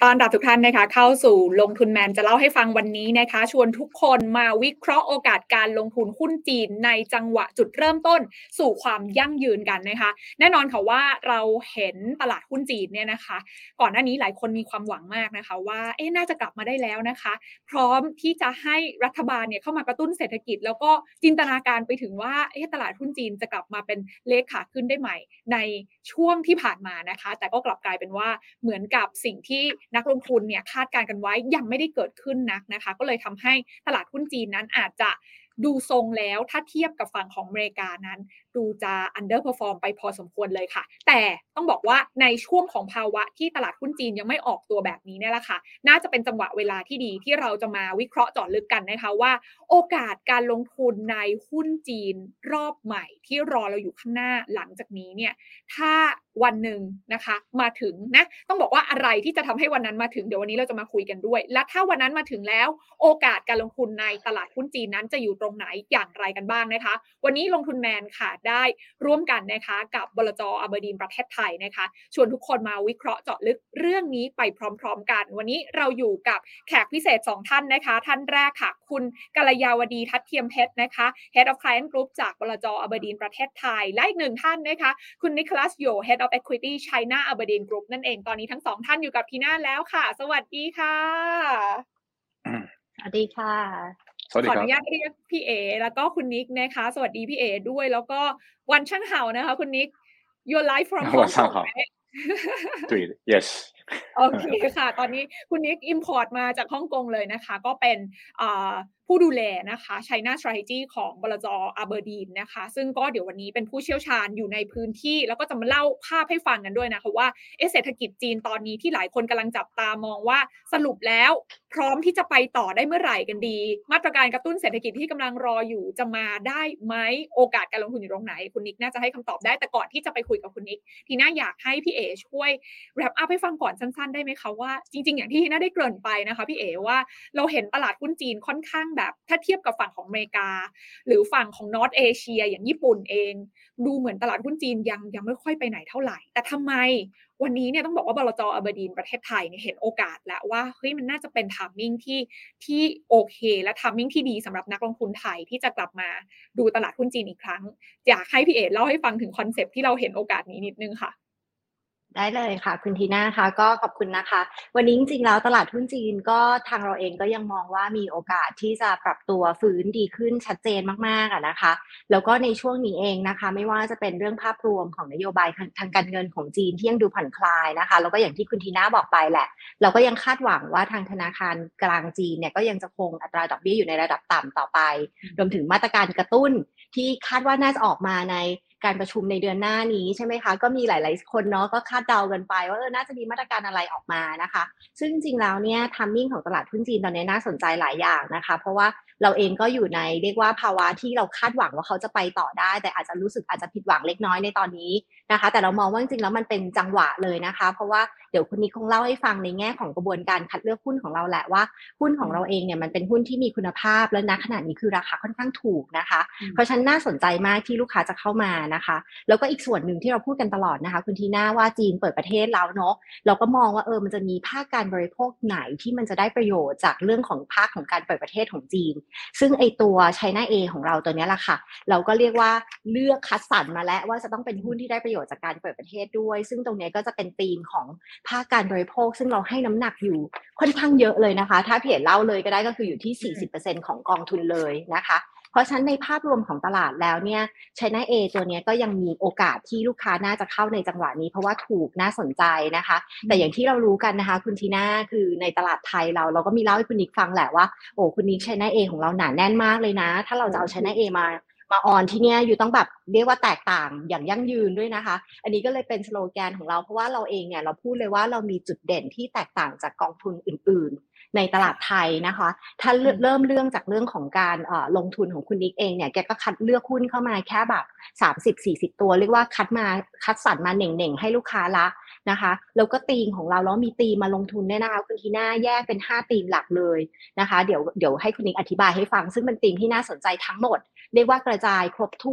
ต้อนรับทุกท่านนะคะเข้าสู่ลงทุนแมนจะเล่าให้ฟังวันนี้นะคะชวนทุกคนมาวิเคราะห์โอกาสการลงทุนหุ้นจีนในจังหวะจุดเริ่มต้นสู่ความยั่งยืนกันนะคะแน่นอนค่ะว่าเราเห็นตลาดหุ้นจีนเนี่ยนะคะก่อนหน้านี้หลายคนมีความหวังมากนะคะว่าน่าจะกลับมาได้แล้วนะคะพร้อมที่จะให้รัฐบาลเนี่ยเข้ามากระตุ้นเศรษฐกิจแล้วก็จินตนาการไปถึงว่าตลาดหุ้นจีนจะกลับมาเป็นเลขขาขึ้นได้ใหม่ในช่วงที่ผ่านมานะคะแต่ก็กลับกลายเป็นว่าเหมือนกับสิ่งที่นักลงทุนเนี่ยคาดการณ์กันไว้ยังไม่ได้เกิดขึ้นนักนะคะก็เลยทำให้ตลาดหุ้นจีนนั้นอาจจะดูทรงแล้วถ้าเทียบกับฝั่งของอเมริกานั้นดูจะ underperform ไปพอสมควรเลยค่ะแต่ต้องบอกว่าในช่วงของภาวะที่ตลาดหุ้นจีนยังไม่ออกตัวแบบนี้เนี่ยแหละค่ะน่าจะเป็นจังหวะเวลาที่ดีที่เราจะมาวิเคราะห์เจาะลึกกันนะคะว่าโอกาสการลงทุนในหุ้นจีนรอบใหม่ที่รอเราอยู่ข้างหน้าหลังจากนี้เนี่ยถ้าวันหนึ่งนะคะมาถึงนะต้องบอกว่าอะไรที่จะทำให้วันนั้นมาถึงเดี๋ยววันนี้เราจะมาคุยกันด้วยและถ้าวันนั้นมาถึงแล้วโอกาสการลงทุนในตลาดหุ้นจีนนั้นจะอยู่ตรงไหนอย่างไรกันบ้างนะคะวันนี้ลงทุนแมนค่ะได้ร่วมกันนะคะกับบลจ.อับเดนประเทศไทยนะคะชวนทุกคนมาวิเคราะห์เจาะลึกเรื่องนี้ไปพร้อมๆกันวันนี้เราอยู่กับแขกพิเศษ2ท่านนะคะท่านแรกค่ะคุณกัลยาวดีทัดเทียมเพชรนะคะ Head of Client Group จากบลจ.อับเดนประเทศไทยและอีกหนึ่งท่านนะคะคุณนิโคลัสโย Head of Equity China Aberdeen Group นั่นเองตอนนี้ทั้ง2ท่านอยู่กับทีน่าแล้วค่ะสวัสดีค่ะสวัสดีค่ะขออนุญาตเรียกพี่เอแล้วก็คุณนิกนะคะสวัสดีพี่เอด้วยแล้วก็วันช่างเห่านะคะคุณนิก Your life from Hong Kong 对 yes โอเคค่ะตอนนี้คุณนิก import มาจากฮ่องกงเลยนะคะก็เป็นผู้ดูแลนะคะ China Strategy ของบลจ. Aberdeen นะคะซึ่งก็เดี๋ยววันนี้เป็นผู้เชี่ยวชาญอยู่ในพื้นที่แล้วก็จะมาเล่าภาพให้ฟังกันด้วยนะคะว่าเศรษฐกิจจีนตอนนี้ที่หลายคนกำลังจับตามองว่าสรุปแล้วพร้อมที่จะไปต่อได้เมื่อไหร่กันดีมาตรการกระตุ้นเศรษฐกิจที่กำลังรออยู่จะมาได้ไหมโอกาสการลงทุนอยู่ตรงไหนคุณนิกน่าจะให้คำตอบได้แต่ก่อนที่จะไปคุยกับคุณนิกทีน่าอยากให้พี่เอช่วย wrap up ให้ฟังก่อนสั้นๆได้ไหมคะว่าจริงๆอย่างที่ทีน่าได้เกริ่นไปนะคะพี่เอว่าเราเห็นตลาดหุ้นจีนค่อนข้างแบบถ้าเทียบกับฝั่งของอเมริกาหรือฝั่งของนอร์ทเอเชียอย่างญี่ปุ่นเองดูเหมือนตลาดหุ้นจีนยังไม่ค่อยไปไหนเท่าไหร่แต่ทำไมวันนี้เนี่ยต้องบอกว่าบลจ.อับเดนประเทศไทยเนี่ยเห็นโอกาสแล้วว่าเฮ้ยมันน่าจะเป็น timing ที่โอเคและ timing ที่ดีสำหรับนักลงทุนไทยที่จะกลับมาดูตลาดหุ้นจีนอีกครั้งอยากให้พี่เอ๋เล่าให้ฟังถึงคอนเซปต์ที่เราเห็นโอกาสนี้นิดนึงค่ะได้เลยค่ะคุณทีน่าค่ะก็ขอบคุณนะคะวันนี้จริงๆแล้วตลาดหุ้นจีนก็ทางเราเองก็ยังมองว่ามีโอกาสที่จะปรับตัวฟื้นดีขึ้นชัดเจนมากๆนะคะแล้วก็ในช่วงนี้เองนะคะไม่ว่าจะเป็นเรื่องภาพรวมของนโยบายทางการเงินของจีนที่ยังดูผ่อนคลายนะคะแล้วก็อย่างที่คุณทีน่าบอกไปแหละเราก็ยังคาดหวังว่าทางธนาคารกลางจีนเนี่ยก็ยังจะคงอัตราดอกเบี้ยอยู่ในระดับต่ำต่อไปรวมถึงมาตรการกระตุ้นที่คาดว่าน่าจะออกมาในการประชุมในเดือนหน้านี้ใช่ไหมคะก็มีหลายๆคนเนาะก็คาดเดากันไปว่าน่าจะมีมาตรการอะไรออกมานะคะซึ่งจริงๆแล้วเนี่ยทัมมิ่งของตลาดหุ้นจีนตอนนี้น่าสนใจหลายอย่างนะคะเพราะว่าเราเองก็อยู่ในเรียกว่าภาวะที่เราคาดหวังว่าเขาจะไปต่อได้แต่อาจจะรู้สึกอาจจะผิดหวังเล็กน้อยในตอนนี้นะคะแต่เรามองว่าจริงๆแล้วมันเป็นจังหวะเลยนะคะเพราะว่าเดี๋ยวคุณนิกคงเล่าให้ฟังในแง่ของกระบวนการคัดเลือกหุ้นของเราแหละว่าหุ้นของเราเองเนี่ยมันเป็นหุ้นที่มีคุณภาพและณขณะนี้คือราคาค่อนข้างถูกนะคะเพราะฉะนั้นน่าสนใจมากที่ลูกค้าจะเข้ามานะคะแล้วก็อีกส่วนหนึ่งที่เราพูดกันตลอดนะคะคุณทีน่าว่าจีนเปิดประเทศแล้วเนาะเราก็มองว่ามันจะมีภาคการบริโภคไหนที่มันจะได้ประโยชน์จากเรื่องของภาคของการเปิดประเทศของจีนซึ่งไอตัว China A ของเราตัวนี้แหละค่ะเราก็เรียกว่าเลือกคัดสรรมาแล้วว่าจะต้องเป็นหุ้นที่ได้ประโยชน์จากการเปิดประเทศด้วยซึ่งตรงนี้ก็จะเป็นธีมของภาคการบริโภคซึ่งเราให้น้ำหนักอยู่ค่อนข้างเยอะเลยนะคะถ้าเพจเล่าเลยก็ได้ก็คืออยู่ที่ 40% ของกองทุนเลยนะคะเพราะฉะนั้นในภาพรวมของตลาดแล้วเนี่ย China A ตัวนี้ก็ยังมีโอกาสที่ลูกค้าน่าจะเข้าในจังหวะนี้เพราะว่าถูกน่าสนใจนะคะแต่อย่างที่เรารู้กันนะคะคุณทีน่าคือในตลาดไทยเราก็มีเล่าให้คุณนิกฟังแหละว่าคุณนิก China A ของเราหนาแน่นมากเลยนะถ้าเราจะเอา China A มาออนที่เนี่ยอยู่ต้องแบบเรียกว่าแตกต่างอย่างยั่งยืนด้วยนะคะอันนี้ก็เลยเป็นสโลแกนของเราเพราะว่าเราเองเนี่ยเราพูดเลยว่าเรามีจุดเด่นที่แตกต่างจากกองทุนอื่นๆในตลาดไทยนะคะถ้าเริ่มเรื่องจากเรื่องของการลงทุนของคุณนิกเองเนี่ยแกก็คัดเลือกหุ้นเข้ามาแค่แบบ30-40ตัวเรียกว่าคัดสรรมาเหน่งๆให้ลูกค้าละนะคะแล้วก็ธีมของเราแล้วมีธีมมาลงทุนเนี่ยนะคะคุณทีน่าแยกเป็น5ธีมหลักเลยนะคะเดี๋ยวให้คุณนิกอธิบายให้ฟังซึ่งเป็นธีมที่น่าสนใจทั้งหมดเรียกว่ากระจายครบถ้วน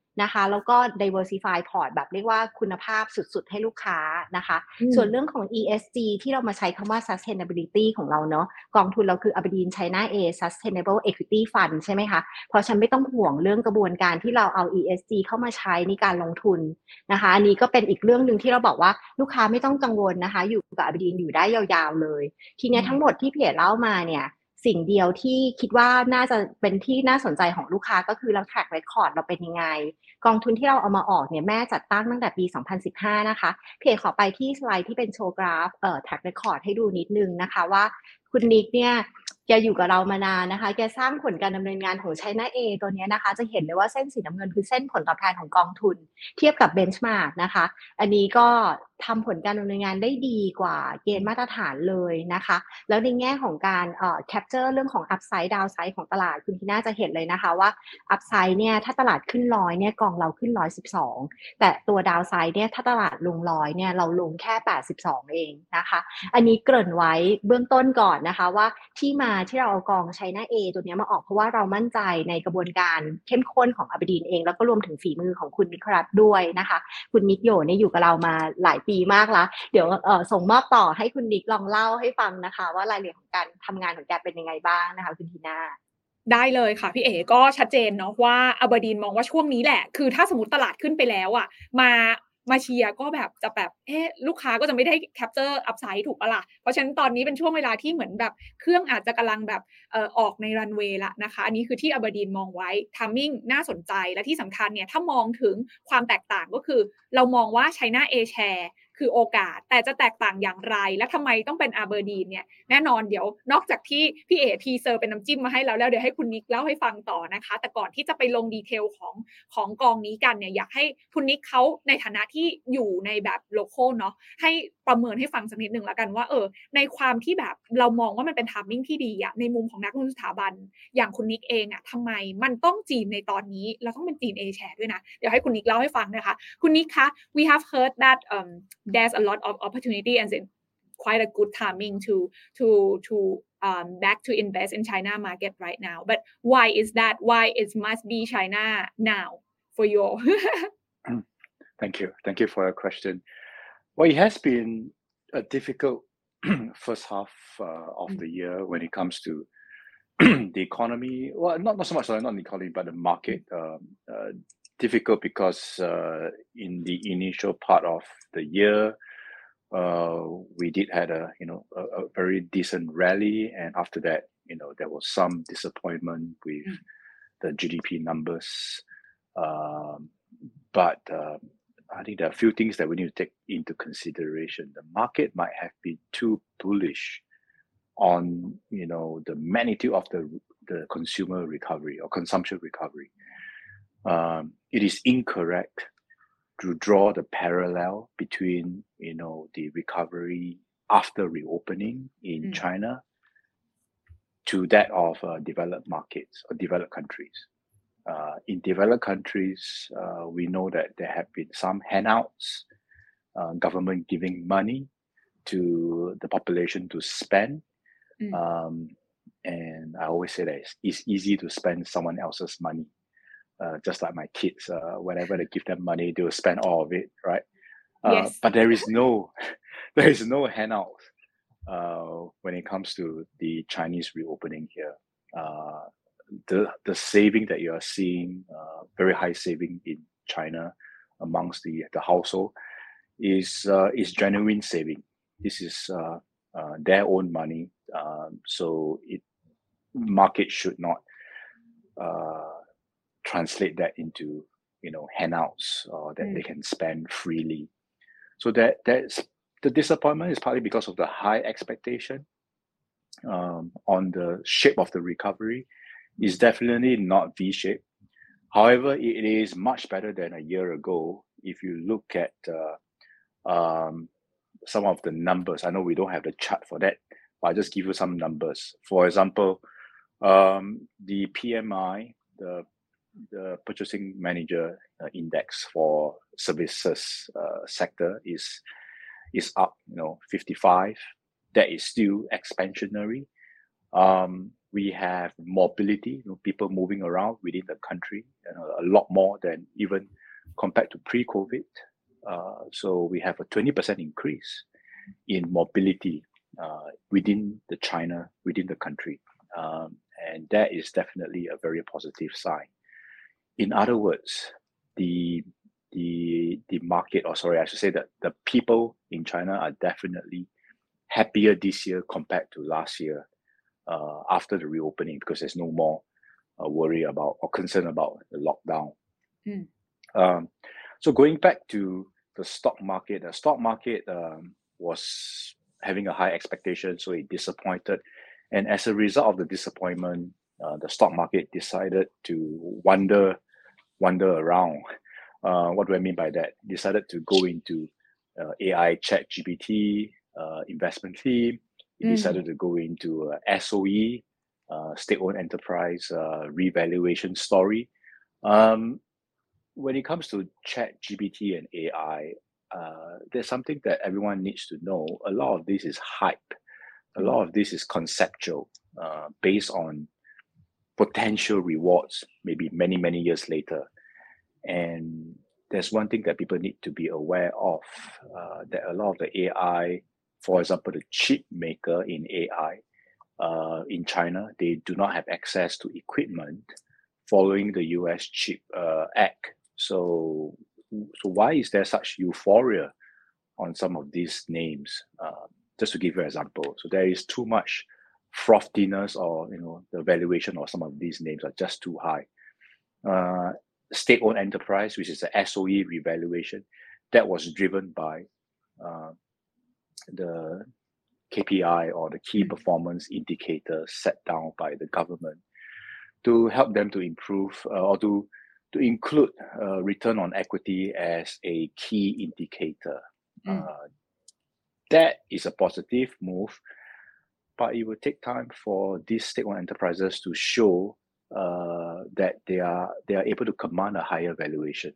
นะคะแล้วก็ diversify port แบบเรียกว่าคุณภาพสุดๆให้ลูกค้านะคะส่วนเรื่องของ ESG ที่เรามาใช้คำว่า sustainability ของเราเนาะกองทุนเราคือ Aberdeen China A Sustainable Equity Fund ใช่ไหมคะเพราะฉันไม่ต้องห่วงเรื่องกระบวนการที่เราเอา ESG เข้ามาใช้ในการลงทุนนะคะอันนี้ก็เป็นอีกเรื่องนึงที่เราบอกว่าลูกค้าไม่ต้องกังวลนะคะอยู่กับ Aberdeen อยู่ได้ยาวๆเลยทีนี้ทั้งหมดที่พี่เอ๋เล่ามาเนี่ยสิ่งเดียวที่คิดว่าน่าจะเป็นที่น่าสนใจของลูกค้าก็คือเรา track record เราเป็นยังไงกองทุนที่เราเอามาออกเนี่ยแม่จัดตั้งตั้งแต่ปี 2015 นะคะเพจขอไปที่สไลด์ที่เป็นโชว์กราฟtrack record ให้ดูนิดนึงนะคะว่าคุณนิกเนี่ยแกอยู่กับเรามานานนะคะแกสร้างผลการดำเนินงานของ China A ตัวนี้นะคะจะเห็นเลยว่าเส้นสีน้ำเงินคือเส้นผลตอบแทนของกองทุนเทียบกับ benchmark นะคะอันนี้ก็ทำผลการดำเนินงานได้ดีกว่าเกณฑ์มาตรฐานเลยนะคะแล้วในแง่ของการcapture เรื่องของ upside downside ของตลาดคุณทีน่าจะเห็นเลยนะคะว่า upside เนี่ยถ้าตลาดขึ้น100เนี่ยกองเราขึ้น112แต่ตัว downside เนี่ยถ้าตลาดลง100เนี่ยเราลงแค่82เองนะคะอันนี้เกริ่นไว้เบื้องต้นก่อนนะคะว่าที่มาที่เราเอากอง China A ตัวนี้มาออกเพราะว่าเรามั่นใจในกระบวนการเข้มข้นของ Aberdeen เองแล้วก็รวมถึงฝีมือของคุณนิครัตด้วยนะคะคุณนิกโยเนี่ยอยู่กับเรามาหลายปีมากแล้วเดี๋ยวส่งมอบต่อให้คุณนิกลองเล่าให้ฟังนะคะว่ารายละเอียดของการทำงานของแกเป็นยังไงบ้างนะคะคุณทีน่าได้เลยค่ะพี่เอ๋ก็ชัดเจนเนาะว่า Aberdeen มองว่าช่วงนี้แหละคือถ้าสมมุติตลาดขึ้นไปแล้วอะมาเชียร์ก็แบบจะแบบลูกค้าก็จะไม่ได้ capture upside ถูกเปล่าล่ะเพราะฉะนั้นตอนนี้เป็นช่วงเวลาที่เหมือนแบบเครื่องอาจจะกำลังแบบออกในรันเวย์แล้วนะคะอันนี้คือที่ Aberdeen มองไว้ timing น่าสนใจและที่สำคัญเนี่ยถ้ามองถึงความแตกต่างก็คือเรามองว่า China A Share คือโอกาสแต่จะแตกต่างอย่างไรและทำไมต้องเป็น Aberdeen เนี่ยแน่นอนเดี๋ยวนอกจากที่พี่เอ๋ทีเซอร์เป็นน้ำจิ้มมาให้แล้วเดี๋ยวให้คุณนิกเล่าให้ฟังต่อนะคะแต่ก่อนที่จะไปลงดีเทลของกองนี้กันเนี่ยอยากให้คุณนิกเขาในฐานะที่อยู่ในแบบโลคอลเนาะให้ประเมินให้ฟังสักนิดนึงแล้วกันว่าในความที่แบบเรามองว่ามันเป็น timing ที่ดีอะในมุมของนักลงทุนสถาบันอย่างคุณนิกเองอะทำไมมันต้องจีนในตอนนี้แล้วต้องเป็นจีน A share ด้วยนะเดี๋ยวให้คุณนิกเล่าให้ฟังนะคะคุณนิกคะ we have heard that there's a lot of opportunity and quite a good timing to back to invest in China market right now. But why is that? Why it must be China now for you? Thank you. Thank you for your question. Well, it has been a difficult first half of the year when it comes to the economy. Well, not so much not the economy, but the market. Difficult because in the initial part of the year, we did had a very decent rally, and after that, there was some disappointment with the GDP numbers. But I think there are a few things that we need to take into consideration. The market might have been too bullish on the magnitude of the consumer recovery or consumption recovery. It is incorrect to draw the parallel between the recovery after reopening in China to that of developed markets or developed countries. In developed countries, we know that there have been some handouts, government giving money to the population to spend. And I always say that it's easy to spend someone else's money. Just like my kids, whenever they give them money, they will spend all of it, right? Yes. But there is no handout when it comes to the Chinese reopening here. The saving that you are seeing, very high saving in China amongst the household, is genuine saving. This is their own money, so market should not translate that into handouts that they can spend freely. So that's the disappointment is partly because of the high expectation on the shape of the recovery. Is definitely not V-shaped. However, it is much better than a year ago. If you look at some of the numbers, I know we don't have the chart for that, but I'll just give you some numbers. For example, the PMI, the Purchasing Manager Index for services sector is up, 55. That is still expansionary. We have mobility, people moving around within the country, a lot more than even compared to pre-COVID. So we have a 20% increase in mobility within the country. And that is definitely a very positive sign. In other words, the market, or sorry, I should say that the people in China are definitely happier this year compared to last year after the reopening, because there's no more worry about or concern about the lockdown. So going back to the stock market was having a high expectation, so it disappointed. And as a result of the disappointment, the stock market decided to wander around. What do I mean by that? Decided to go into AI ChatGPT investment theme. It decided to go into SOE, state-owned enterprise revaluation story. When it comes to ChatGPT and AI, there's something that everyone needs to know. A lot of this is hype. A lot of this is conceptual, based on potential rewards, maybe many, many years later. And there's one thing that people need to be aware of, that a lot of the AI, for example, the chip maker in AI in China, they do not have access to equipment following the US Chip Act. So why is there such euphoria on some of these names? Just to give you an example, so there is too much frothiness, or the valuation of some of these names are just too high. State-owned enterprise, which is the SOE revaluation, that was driven by the KPI, or the key performance indicator set down by the government to help them to improve or to include return on equity as a key indicator. That is a positive move, but it will take time for these state-owned enterprises to show that they are able to command a higher valuation.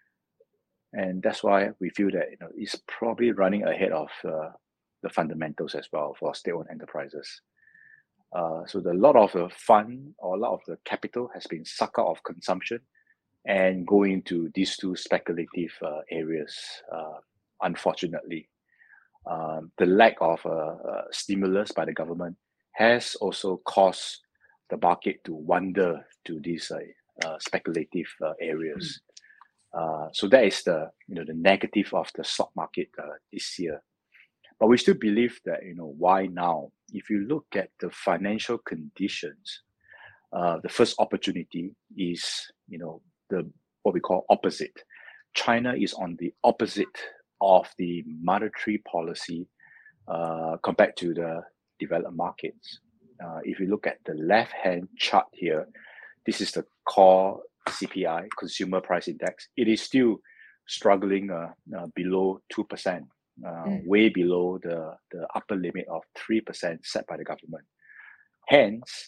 And that's why we feel that it's probably running ahead of the fundamentals as well for state-owned enterprises. So a lot of the fund, or a lot of the capital, has been sucked out of consumption and going into these two speculative areas, unfortunately. The lack of stimulus by the government has also caused the market to wander to these speculative areas. So that is the negative of the stock market this year. But we still believe that why now? If you look at the financial conditions, the first opportunity is the what we call opposite. China is on the opposite of the monetary policy compared to the developed markets. If you look at the left-hand chart here, this is the core CPI, Consumer Price Index. It is still struggling below 2%, way below the upper limit of 3% set by the government. Hence,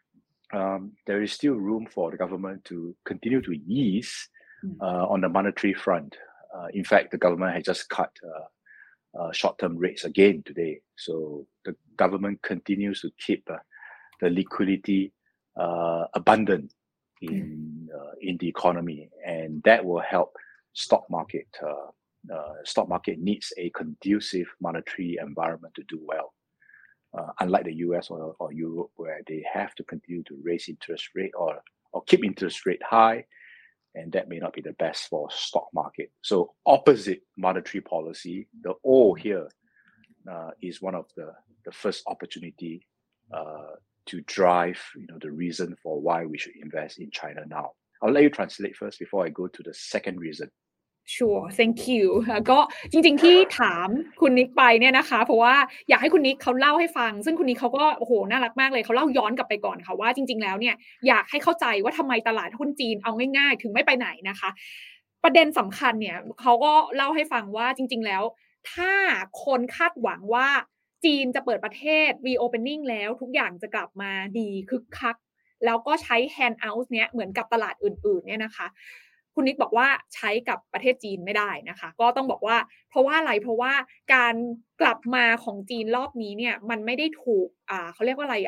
there is still room for the government to continue to ease on the monetary front. In fact, the government has just cut short-term rates again today. So the government continues to keep the liquidity abundant in the economy, and that will help stock market. Stock market needs a conducive monetary environment to do well. Unlike the US or Europe, where they have to continue to raise interest rate or keep interest rate high, and that may not be the best for stock market. So opposite monetary policy, the O here is one of the first opportunity to drive the reason for why we should invest in China now. I'll let you translate first before I go to the second reason. Sure, thank you ก็จริงๆที่ถามคุณนิกไปเนี่ยนะคะเพราะว่าอยากให้คุณนิกเขาเล่าให้ฟังซึ่งคุณนิกเขาก็โอ้โหน่ารักมากเลยเขาเล่าย้อนกลับไปก่อนค่ะว่าจริงๆแล้วเนี่ยอยากให้เข้าใจว่าทำไมตลาดหุ้นจีนเอาง่ายๆถึงไม่ไปไหนนะคะประเด็นสำคัญเนี่ยเขาก็เล่าให้ฟังว่าจริงๆแล้วถ้าคนคาดหวังว่าจีนจะเปิดประเทศ reopening แล้วทุกอย่างจะกลับมาดีคึกคักแล้วก็ใช้ handout เนี้ยเหมือนกับตลาดอื่นๆเนี่ยนะคะคุณนิกบอกว่าใช้กับประเทศจีนไม่ได้นะคะก็ต้องบอกว่าเพราะว่าอะไรเพราะว่าการกลับมาของจีนรอบนี้เนี่ยมันไม่ได้ถูกเขาเรียกว่าอะไร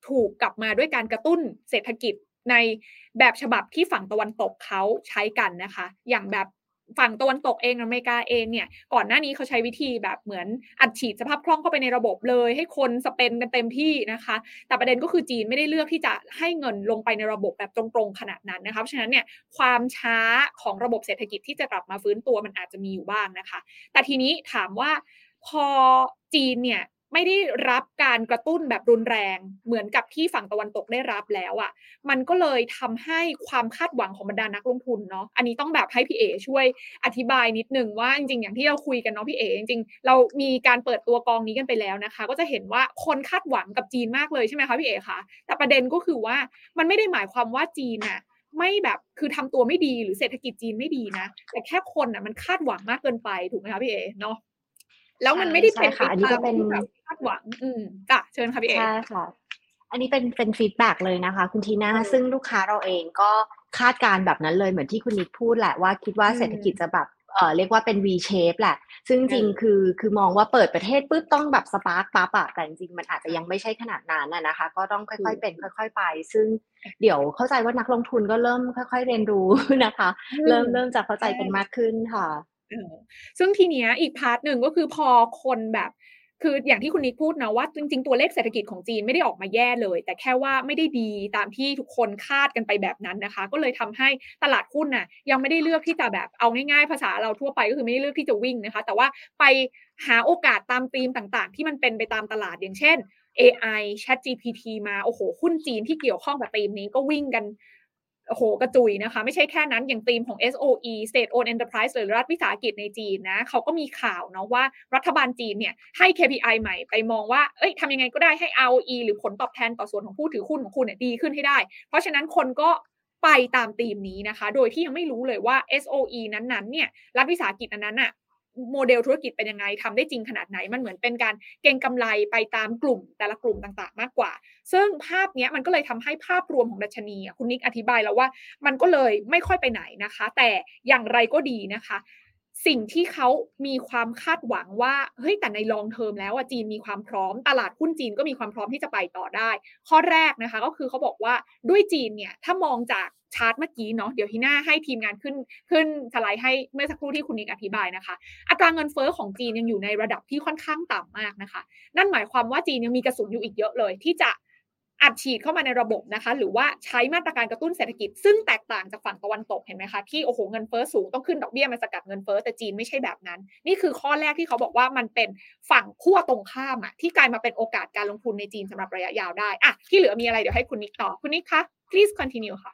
ถูกกลับมาด้วยการกระตุ้นเศรษฐกิจในแบบฉบับที่ฝั่งตะวันตกเขาใช้กันนะคะอย่างแบบฝั่งตะวันตกเองอเมริกาเองเนี่ยก่อนหน้านี้เขาใช้วิธีแบบเหมือนอัดฉีดสภาพคล่องเข้าไปในระบบเลยให้คนสเปนกันเต็มที่นะคะแต่ประเด็นก็คือจีนไม่ได้เลือกที่จะให้เงินลงไปในระบบแบบตรงๆขนาดนั้นนะคะเพราะฉะนั้นเนี่ยความช้าของระบบเศรษฐกิจที่จะกลับมาฟื้นตัวมันอาจจะมีอยู่บ้างนะคะแต่ทีนี้ถามว่าพอจีนเนี่ยไม่ได้รับการกระตุ้นแบบรุนแรงเหมือนกับที่ฝั่งตะวันตกได้รับแล้วอะมันก็เลยทำให้ความคาดหวังของบรรดานักลงทุนเนาะอันนี้ต้องแบบให้พี่เอ๋ช่วยอธิบายนิดนึงว่าจริงๆอย่างที่เราคุยกันเนาะพี่เอ๋จริงๆเรามีการเปิดตัวกองนี้กันไปแล้วนะคะก็จะเห็นว่าคนคาดหวังกับจีนมากเลยใช่ไหมคะพี่เอ๋คะแต่ประเด็นก็คือว่ามันไม่ได้หมายความว่าจีนน่ะไม่แบบคือทำตัวไม่ดีหรือเศรษฐกิจจีนไม่ดีนะแต่แค่คนน่ะมันคาดหวังมากเกินไปถูกไหมคะพี่เอ๋เนาะแล้วมันไม่ได้เป็นไปใช่ค่ะอันนี้ตาก็มเป็นที่แบบคาดหวังจ้ะเชิญค่ะพี่เอ๋ใช่ค่ะ อันนี้เป็นฟีดแบ็กเลยนะคะคุณทีน่าซึ่งลูกค้าเราเองก็คาดการณ์แบบนั้นเลยเหมือนที่คุณนิกพูดแหละว่าคิดว่าเศรษฐกิจจะแบบเรียกว่าเป็น V shape แหละซึ่งจริงคือมองว่าเปิดประเทศปุ๊บต้องแบบสปาร์คปั๊บอะแต่จริงๆมันอาจจะยังไม่ใช่ขนาดนั้นนะคะก็ต้องค่อยๆเป็นค่อยๆไปซึ่งเดี๋ยวเข้าใจว่านักลงทุนก็เริ่มค่อยๆเรียนรู้นะคะเริ่มจะเข้าใจกันมากขึ้นค่ะซึ่งทีเนี้ยอีกพาร์ทหนึ่งก็คือพอคนแบบคืออย่างที่คุณนิกพูดนะว่าจริงๆตัวเลขเศรษฐกิจของจีนไม่ได้ออกมาแย่เลยแต่แค่ว่าไม่ได้ดีตามที่ทุกคนคาดกันไปแบบนั้นนะคะก็เลยทำให้ตลาดหุ้นน่ะยังไม่ได้เลือกที่จะแบบเอาง่ายๆภาษาเราทั่วไปก็คือไม่ได้เลือกที่จะวิ่งนะคะแต่ว่าไปหาโอกาสตามธีมต่างๆที่มันเป็นไปตามตลาดอย่างเช่น AI ChatGPT มาโอ้โฮหุ้นจีนที่เกี่ยวข้องกับธีมนี้ก็วิ่งกันโอ้โฮกระจุยนะคะไม่ใช่แค่นั้นอย่างธีมของ SOE State Owned Enterprise หรือรัฐวิสาหกิจในจีนนะเขาก็มีข่าวเนาะว่ารัฐบาลจีนเนี่ยให้ KPI ใหม่ไปมองว่าเฮ้ยทำยังไงก็ได้ให้ ROE หรือผลตอบแทนต่อส่วนของผู้ถือหุ้นของคุณเนี่ยดีขึ้นให้ได้เพราะฉะนั้นคนก็ไปตามธีมนี้นะคะโดยที่ยังไม่รู้เลยว่า SOE นั้นๆเนี่ยรัฐวิสาหกิจอันนั้นน่ะโมเดลธุรกิจเป็นยังไงทำได้จริงขนาดไหนมันเหมือนเป็นการเก็งกำไรไปตามกลุ่มแต่ละกลุ่มต่างๆมากกว่าซึ่งภาพเนี้ยมันก็เลยทำให้ภาพรวมของดัชนีอะคุณนิกอธิบายแล้วว่ามันก็เลยไม่ค่อยไปไหนนะคะแต่อย่างไรก็ดีนะคะสิ่งที่เขามีความคาดหวังว่าเฮ้ยแต่ใน long term แล้วอะจีนมีความพร้อมตลาดหุ้นจีนก็มีความพร้อมที่จะไปต่อได้ข้อแรกนะคะก็คือเขาบอกว่าด้วยจีนเนี่ยถ้ามองจากชาร์ตเมื่อกี้เนาะเดี๋ยวทีหน้าให้ทีมงานขึ้นสไลด์ให้เมื่อสักครู่ที่คุณนิกอธิบายนะคะอัตราเงินเฟ้อของจีนยังอยู่ในระดับที่ค่อนข้างต่ำมากนะคะนั่นหมายความว่าจีนยังมีกระสุนอยู่อีกเยอะเลยที่จะอัดฉีดเข้ามาในระบบนะคะหรือว่าใช้มาตรการกระตุ้นเศรษฐกิจซึ่งแตกต่างจากฝั่งตะวันตกเห็นไหมคะที่โอ้โหเงินเฟ้อสูงต้องขึ้นดอกเบี้ยมาสกัดเงินเฟ้อแต่จีนไม่ใช่แบบนั้นนี่คือข้อแรกที่เขาบอกว่ามันเป็นฝั่งขั้วตรงข้ามอะที่กลายมาเป็นโอกาสการลงทุนในจีนสำหรับระยะยาวได้อะที่เหลือมีอะไรเดี๋ยวให้คุณนิกต่อคุณนิกคะ please continue ค่ะ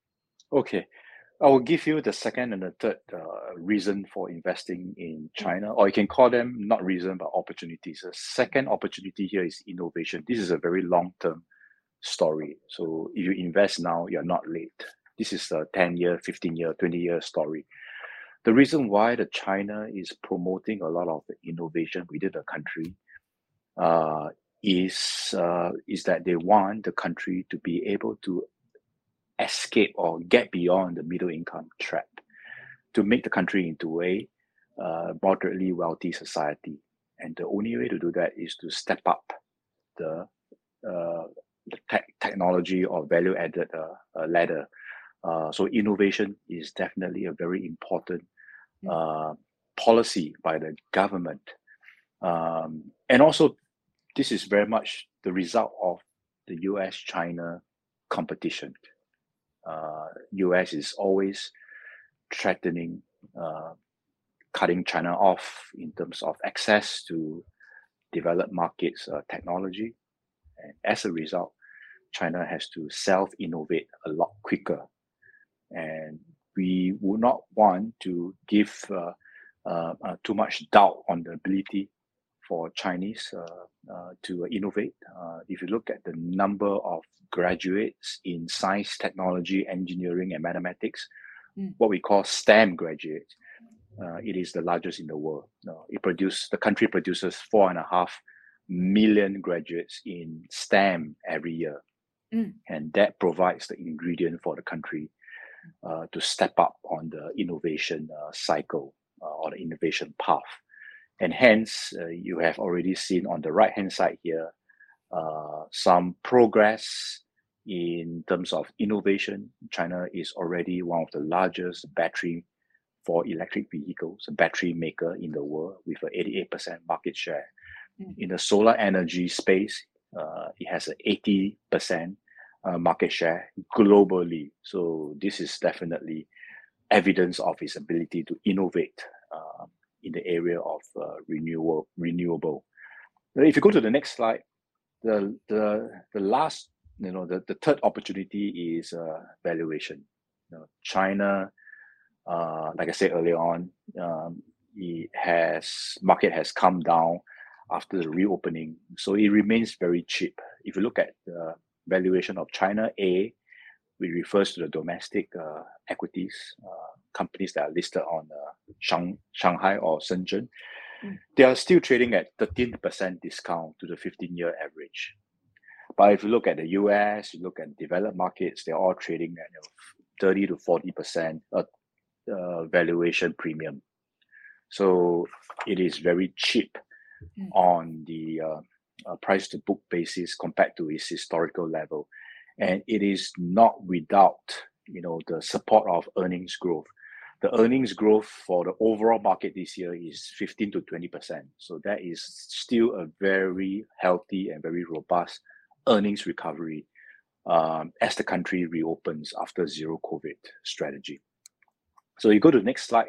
Okay. I will give you the second and the third reason for investing in China, or you can call them not reason but opportunities. The second opportunity here is innovation. This is a very long-term story. So if you invest now, you're not late. This is a 10-year, 15-year, 20-year story. The reason why the China is promoting a lot of innovation within the country is that they want the country to be able to escape or get beyond the middle income trap to make the country into a moderately wealthy society. And the only way to do that is to step up the technology or value added ladder. So innovation is definitely a very important policy by the government. And also, this is very much the result of the US-China competition. US is always threatening cutting China off in terms of access to developed markets technology. And as a result, China has to self-innovate a lot quicker. And we would not want to give too much doubt on the ability for Chinese to innovate. If you look at the number of graduates in science, technology, engineering, and mathematics, what we call STEM graduates, it is the largest in the world. The country produces 4.5 million graduates in STEM every year. And that provides the ingredient for the country to step up on the innovation cycle or the innovation path. And hence, you have already seen on the right-hand side here, some progress in terms of innovation. China is already one of the largest battery for electric vehicles, a battery maker in the world with an 88% market share. In the solar energy space, it has an 80% market share globally. So this is definitely evidence of its ability to innovate in the area of renewable. If you go to the next slide, the last, the third opportunity is valuation. China, like I said earlier on, market has come down after the reopening, so it remains very cheap. If you look at the valuation of China A, which refers to the domestic equities, companies that are listed on Shanghai or Shenzhen, they are still trading at 13% discount to the 15-year average. But if you look at the US, you look at developed markets, they're all trading at 30 to 40% valuation premium. So it is very cheap on the price to book basis compared to its historical level. And it is not without, the support of earnings growth. The earnings growth for the overall market this year is 15 to 20%. So that is still a very healthy and very robust earnings recovery as the country reopens after zero COVID strategy. So you go to the next slide.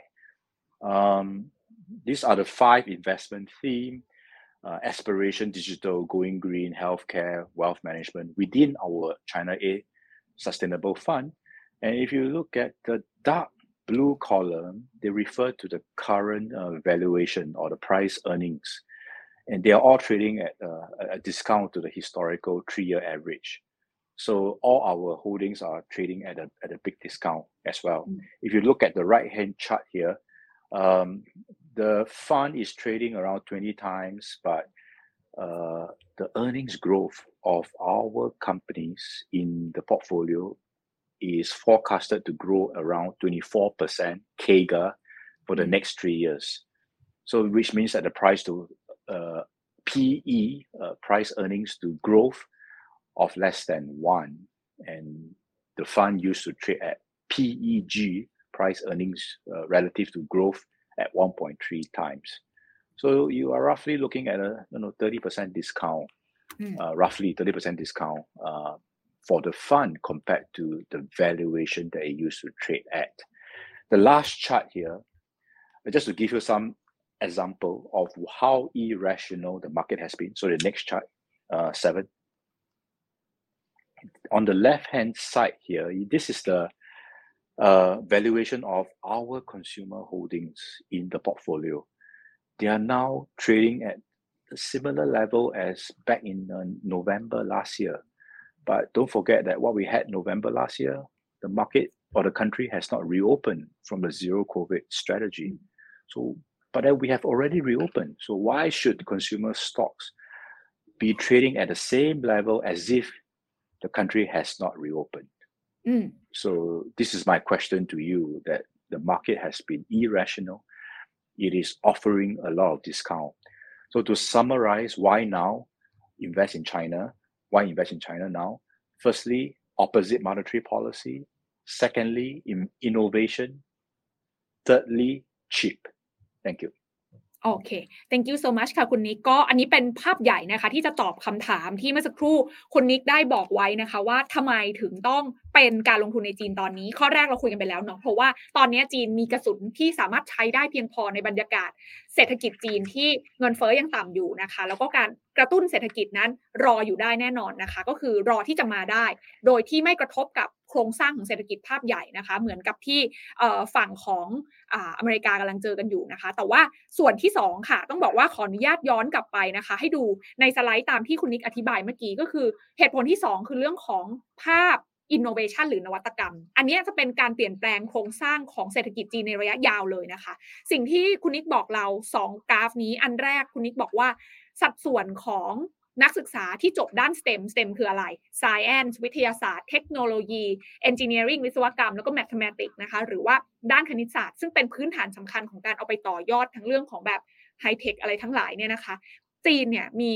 These are the 5 investment themes: aspiration, digital, going green, healthcare, wealth management within our China A Sustainable Fund. And if you look at the dark blue column, they refer to the current valuation or the price earnings. And they are all trading at a discount to the historical 3-year average. So all our holdings are trading at a big discount as well. If you look at the right-hand chart here, the fund is trading around 20 times, but the earnings growth of our companies in the portfolio is forecasted to grow around 24% CAGR for the next 3 years. So which means that the price to PE, price earnings to growth of less than 1, and the fund used to trade at PEG, price earnings relative to growth, at 1.3 times. So you are roughly looking at a 30% discount, roughly 30% discount for the fund compared to the valuation that it used to trade at. The last chart here, just to give you some example of how irrational the market has been. So the next chart, 7. On the left-hand side here, this is the valuation of our consumer holdings in the portfolio. They are now trading at a similar level as back in November last year. But don't forget that what we had November last year, the market or the country has not reopened from the zero COVID strategy. So, but then we have already reopened. So why should consumer stocks be trading at the same level as if the country has not reopened? So this is my question to you, that the market has been irrational. It is offering a lot of discount. So to summarize, why now invest in China? Why invest in China now? Firstly, opposite monetary policy. Secondly, innovation. Thirdly, cheap. Thank you. โอเค thank you so much ค่ะคุณนิกก็อันนี้เป็นภาพใหญ่นะคะที่จะตอบคำถามที่เมื่อสักครู่คุณนิกได้บอกไว้นะคะว่าทำไมถึงต้องเป็นการลงทุนในจีนตอนนี้ข้อแรกเราคุยกันไปแล้วเนาะเพราะว่าตอนนี้จีนมีกระสุนที่สามารถใช้ได้เพียงพอในบรรยากาศเศรษฐกิจจีนที่เงินเฟ้อยังต่ำอยู่นะคะแล้วก็การกระตุ้นเศรษฐกิจนั้นรออยู่ได้แน่นอนนะคะก็คือรอที่จะมาได้โดยที่ไม่กระทบกับโครงสร้างของเศรษฐกิจภาพใหญ่นะคะเหมือนกับที่ฝั่งของอเมริกากำลังเจอกันอยู่นะคะแต่ว่าส่วนที่2ค่ะต้องบอกว่าขออนุญาตย้อนกลับไปนะคะให้ดูในสไลด์ตามที่คุณนิกอธิบายเมื่อกี้ก็คือเหตุผลที่2คือเรื่องของภาพ innovation หรือนวัตกรรมอันนี้จะเป็นการเปลี่ยนแปลงโครงสร้างของเศรษฐกิจจีนในระยะยาวเลยนะคะสิ่งที่คุณนิกบอกเรา2กราฟนี้อันแรกคุณนิกบอกว่าสัดส่วนของนักศึกษาที่จบด้าน STEM คืออะไร Science วิทยาศาสตร์เทคโนโลยี Engineering วิศวกรรมแล้วก็ Mathematics นะคะหรือว่าด้านคณิตศาสตร์ซึ่งเป็นพื้นฐานสำคัญของการเอาไปต่อยอดทั้งเรื่องของแบบไฮเทคอะไรทั้งหลายเนี่ยนะคะจีนเนี่ยมี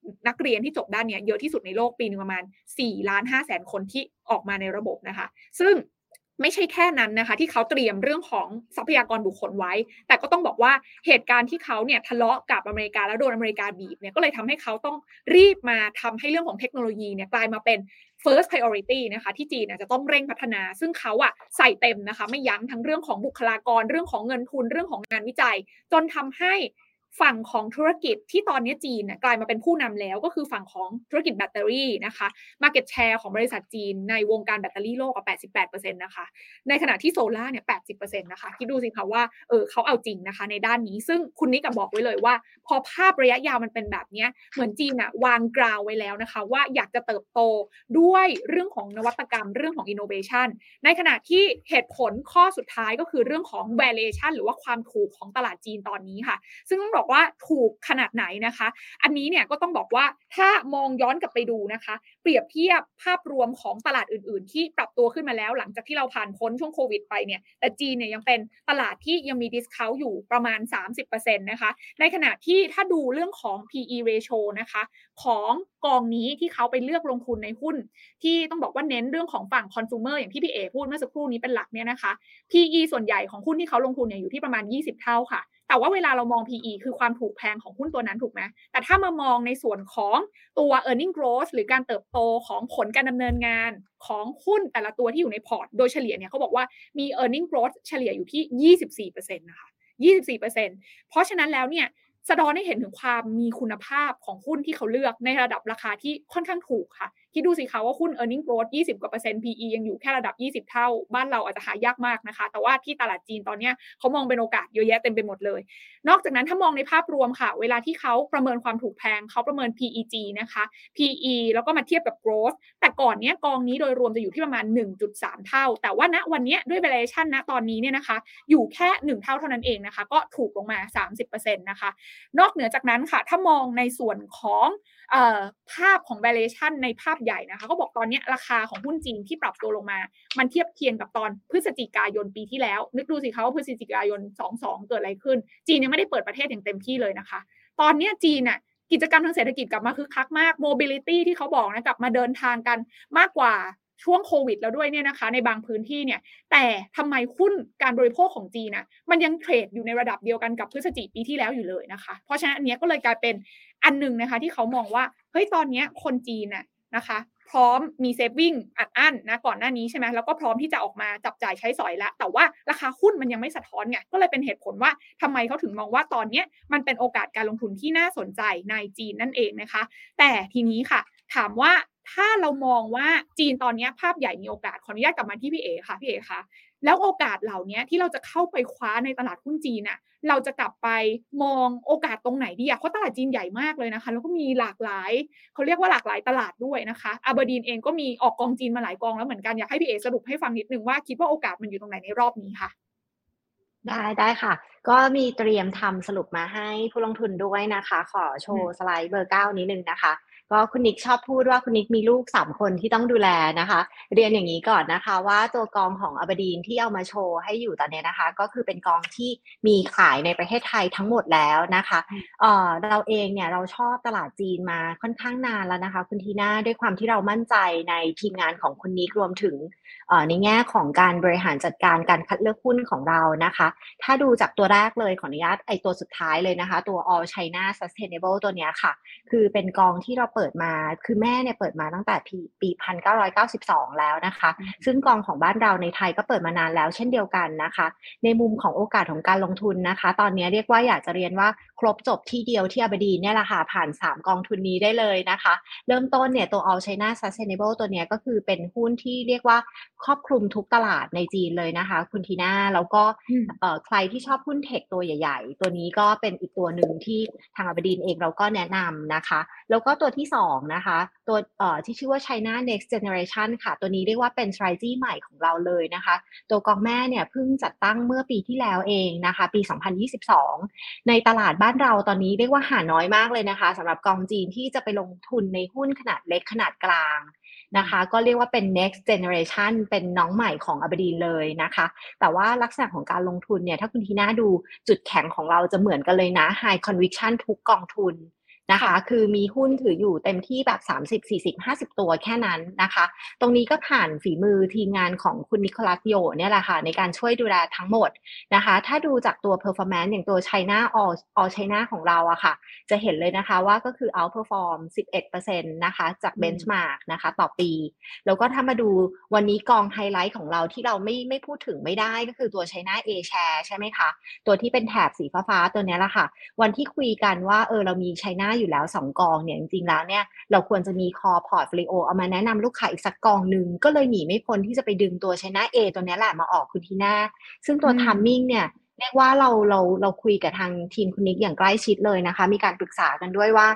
นักเรียนที่จบด้านเนี้ยเยอะที่สุดในโลกปีนึงประมาณ4,500,000 คนที่ออกมาในระบบนะคะซึ่งไม่ใช่แค่นั้นนะคะที่เขาเตรียมเรื่องของทรัพยากรบุคคลไว้แต่ก็ต้องบอกว่าเหตุการณ์ที่เขาเนี่ยทะเลาะกับอเมริกาแล้วโดนอเมริกาบีบเนี่ยก็เลยทำให้เขาต้องรีบมาทำให้เรื่องของเทคโนโลยีเนี่ยกลายมาเป็น first priority นะคะที่จีนจะต้องเร่งพัฒนาซึ่งเขาใส่เต็มนะคะไม่ยั้งทั้งเรื่องของบุคลากรเรื่องของเงินทุนเรื่องของงานวิจัยจนทำให้ฝั่งของธุรกิจที่ตอนนี้จีนกลายมาเป็นผู้นำแล้วก็คือฝั่งของธุรกิจแบตเตอรี่นะคะ market share ของบริษัทจีนในวงการแบตเตอรี่โลก88% นะคะในขณะที่โซล่าเนี่ย 80% นะคะคิดดูสิคะว่าเขาเอาจริงนะคะในด้านนี้ซึ่งคุณนิกบอกไว้เลยว่าพอภาพระยะยาวมันเป็นแบบนี้เหมือนจีนวางกราวไว้แล้วนะคะว่าอยากจะเติบโตด้วยเรื่องของนวัตกรรมเรื่องของ innovation ในขณะที่เหตุผลข้อสุดท้ายก็คือเรื่องของ valuation หรือว่าความถูกของตลาดจีนตอนนี้ค่ะซึ่งต้องบอกว่าถูกขนาดไหนนะคะอันนี้เนี่ยก็ต้องบอกว่าถ้ามองย้อนกลับไปดูนะคะเปรียบเทียบภาพรวมของตลาดอื่นๆที่ปรับตัวขึ้นมาแล้วหลังจากที่เราผ่านพ้นช่วงโควิดไปเนี่ยแต่จีนเนี่ยยังเป็นตลาดที่ยังมี discount อยู่ประมาณ 30% นะคะในขณะที่ถ้าดูเรื่องของ PE ratio นะคะของกองนี้ที่เขาไปเลือกลงทุนในหุ้นที่ต้องบอกว่าเน้นเรื่องของฝั่ง consumer อย่างที่พี่เอพูดเมื่อสักครู่นี้เป็นหลักเนี่ยนะคะ PE ส่วนใหญ่ของหุ้นที่เขาลงทุนเนี่ยอยู่ที่ประมาณ20เท่าค่ะแต่ว่าเวลาเรามอง PE คือความถูกแพงของหุ้นตัวนั้นถูกไหมแต่ถ้ามามองในส่วนของตัว earning growth หรือการเติบโตของผลการดำเนินงานของหุ้นแต่ละตัวที่อยู่ในพอร์ตโดยเฉลี่ยเนี่ยเขาบอกว่ามี earning growth เฉลี่ยอยู่ที่ 24% นะคะ 24% เพราะฉะนั้นแล้วเนี่ยสะท้อนให้เห็นถึงความมีคุณภาพของหุ้นที่เขาเลือกในระดับราคาที่ค่อนข้างถูกค่ะคิดดูสิคะว่าหุ้น earning growth 20 กว่า%, PE ยังอยู่แค่ระดับ20เท่าบ้านเราอาจจะหายากมากนะคะแต่ว่าที่ตลาดจีนตอนนี้เขามองเป็นโอกาสเยอะแยะเต็มไปหมดเลยนอกจากนั้นถ้ามองในภาพรวมค่ะเวลาที่เขาประเมินความถูกแพงเขาประเมิน PEG นะคะ PE แล้วก็มาเทียบกับ growth แต่ก่อนนี้กองนี้โดยรวมจะอยู่ที่ประมาณ 1.3 เท่าแต่ว่าณวันนี้ด้วย valuation ณตอนนี้เนี่ยนะคะอยู่แค่1เท่าเท่านั้นเองนะคะก็ถูกลงมา 30% นะคะนอกเหนือจากนั้นค่ะถ้ามองในส่วนของภาพของ valuation ในภาพใหญ่นะคะเขาบอกตอนนี้ราคาของหุ้นจีนที่ปรับตัวลงมามันเทียบเคียงกับตอนพฤศจิกายนปีที่แล้วนึกดูสิคะว่าพฤศจิกายน22เกิดอะไรขึ้นจีนยังไม่ได้เปิดประเทศอย่างเต็มที่เลยนะคะตอนนี้จีนกิจกรรมทางเศรษฐกิจกลับมาคึกคักมาก mobility ที่เขาบอกนะกลับมาเดินทางกันมากกว่าช่วงโควิดแล้วด้วยเนี่ยนะคะในบางพื้นที่เนี่ยแต่ทำไมหุ้นการบริโภคของจีนมันยังเทรดอยู่ในระดับเดียวกันกับพฤศจิกายนปีที่แล้วอยู่เลยนะคะเพราะฉะนั้นอันนี้ก็เลยกลายเป็นอันนึงนะคะที่เขามองว่าเฮ้ยตอนนี้คนจีนนะคะพร้อมมีเซฟวิ่งอัดอั้นนะก่อนหน้านี้ใช่ไหมแล้วก็พร้อมที่จะออกมาจับจ่ายใช้สอยแล้วแต่ว่าราคาหุ้นมันยังไม่สะท้อนไงก็เลยเป็นเหตุผลว่าทำไมเขาถึงมองว่าตอนนี้มันเป็นโอกาสการลงทุนที่น่าสนใจในจีนนั่นเองนะคะแต่ทีนี้ค่ะถามว่าถ้าเรามองว่าจีนตอนนี้ภาพใหญ่มีโอกาสขออนุญาตกลับมาที่พี่เอค่ะพี่เอคะแล้วโอกาสเหล่านี้ที่เราจะเข้าไปคว้าในตลาดหุ้นจีนเราจะกลับไปมองโอกาสตรงไหนดีเพราะตลาดจีนใหญ่มากเลยนะคะแล้วก็มีหลากหลายเขาเรียกว่าหลากหลายตลาดด้วยนะคะอาเบอร์ดีนเองก็มีออกกองจีนมาหลายกองแล้วเหมือนกันอยากให้พี่เอสรุปให้ฟังนิดนึงว่าคิดว่าโอกาสมันอยู่ตรงไหนในรอบนี้ค่ะได้ค่ะก็มีเตรียมทำสรุปมาให้ผู้ลงทุนด้วยนะคะขอโชว์สไลด์เบอร์9นิดนึงนะคะก็คุณนิกชอบพูดว่าคุณนิกมีลูก3คนที่ต้องดูแลนะคะเรียนอย่างนี้ก่อนนะคะว่าตัวกองของอเบอร์ดีนที่เอามาโชว์ให้อยู่ตอนนี้นะคะก็คือเป็นกองที่มีขายในประเทศไทยทั้งหมดแล้วนะคะเราเองเนี่ยเราชอบตลาดจีนมาค่อนข้างนานแล้วนะคะคุณทีน่าด้วยความที่เรามั่นใจในทีมงานของคุณนิกรวมถึงในแง่ของการบริหารจัดการการคัดเลือกหุ้นของเรานะคะถ้าดูจากตัวแรกเลยขออนุญาตตัวสุดท้ายเลยนะคะตัว All China Sustainable ตัวนี้ค่ะคือเป็นกองที่เราเปิดมาคือแม่เนี่ยเปิดมาตั้งแต่ปี1992แล้วนะคะซึ่งกองของบ้านเราในไทยก็เปิดมานานแล้วเช่นเดียวกันนะคะในมุมของโอกาสของการลงทุนนะคะตอนนี้เรียกว่าอยากจะเรียนว่าครบจบที่เดียวที่อเบอร์ดีนเนี่ยแหละค่ะผ่าน3กองทุนนี้ได้เลยนะคะเริ่มต้นเนี่ยตัว All China Sustainable ตัวนี้ก็คือเป็นหุ้นที่เรียกว่าครอบคลุมทุกตลาดในจีนเลยนะคะคุณทีน่าแล้วก็ใครที่ชอบหุ้นเทคตัวใหญ่ๆตัวนี้ก็เป็นอีกตัวหนึ่งที่ทางอเบอร์ดีนเองเราก็แนะนำนะคะแล้วก็ตัวที่2นะคะตัวที่ชื่อว่า China Next Generation ค่ะตัวนี้เรียกว่าเป็น strategy ใหม่ของเราเลยนะคะตัวกองแม่เนี่ยเพิ่งจัดตั้งเมื่อปีที่แล้วเองนะคะปี2022ในตลาดบ้านเราตอนนี้เรียกว่าหาน้อยมากเลยนะคะสำหรับกองจีนที่จะไปลงทุนในหุ้นขนาดเล็กขนาดกลางนะคะก็เรียกว่าเป็น next generation เป็นน้องใหม่ของอเบอร์ดีนเลยนะคะแต่ว่าลักษณะของการลงทุนเนี่ยถ้าคุณทีน่าดูจุดแข็งของเราจะเหมือนกันเลยนะ high conviction ทุกกองทุนนะคะคือมีหุ้นถืออยู่เต็มที่แบบ30 40 50ตัวแค่นั้นนะคะตรงนี้ก็ผ่านฝีมือทีมงานของคุณนิโคลัสโยเนี่ยแหละค่ะในการช่วยดูแลทั้งหมดนะคะถ้าดูจากตัว performance อย่างตัว China All China ของเราอะค่ะจะเห็นเลยนะคะว่าก็คือ outperform 11% นะคะจาก benchmark นะคะต่อปีแล้วก็ถ้ามาดูวันนี้กองไฮไลท์ของเราที่เราไม่พูดถึงไม่ได้ก็คือตัว China A Share ใช่ไหมคะตัวที่เป็นแถบสีฟ้าๆตัวนี้แหละค่ะวันที่คุยกันว่าเรามี China อยู่แล้ว2กองเนี่ยจริงๆแล้วเนี่ยเราควรจะมี core portfolio เอามาแนะนำลูกค้าอีกสักกองนึงก็เลยหนีไม่พ้นที่จะไปดึงตัว China A ตัวนี้แหละมาออกคุณทีน่าซึ่งตัว timing เนี่ยเรียกว่าเราคุยกับทางทีมคุณนิกอย่างใกล้ชิดเลยนะคะมีการปรึกษากันด้วยว่า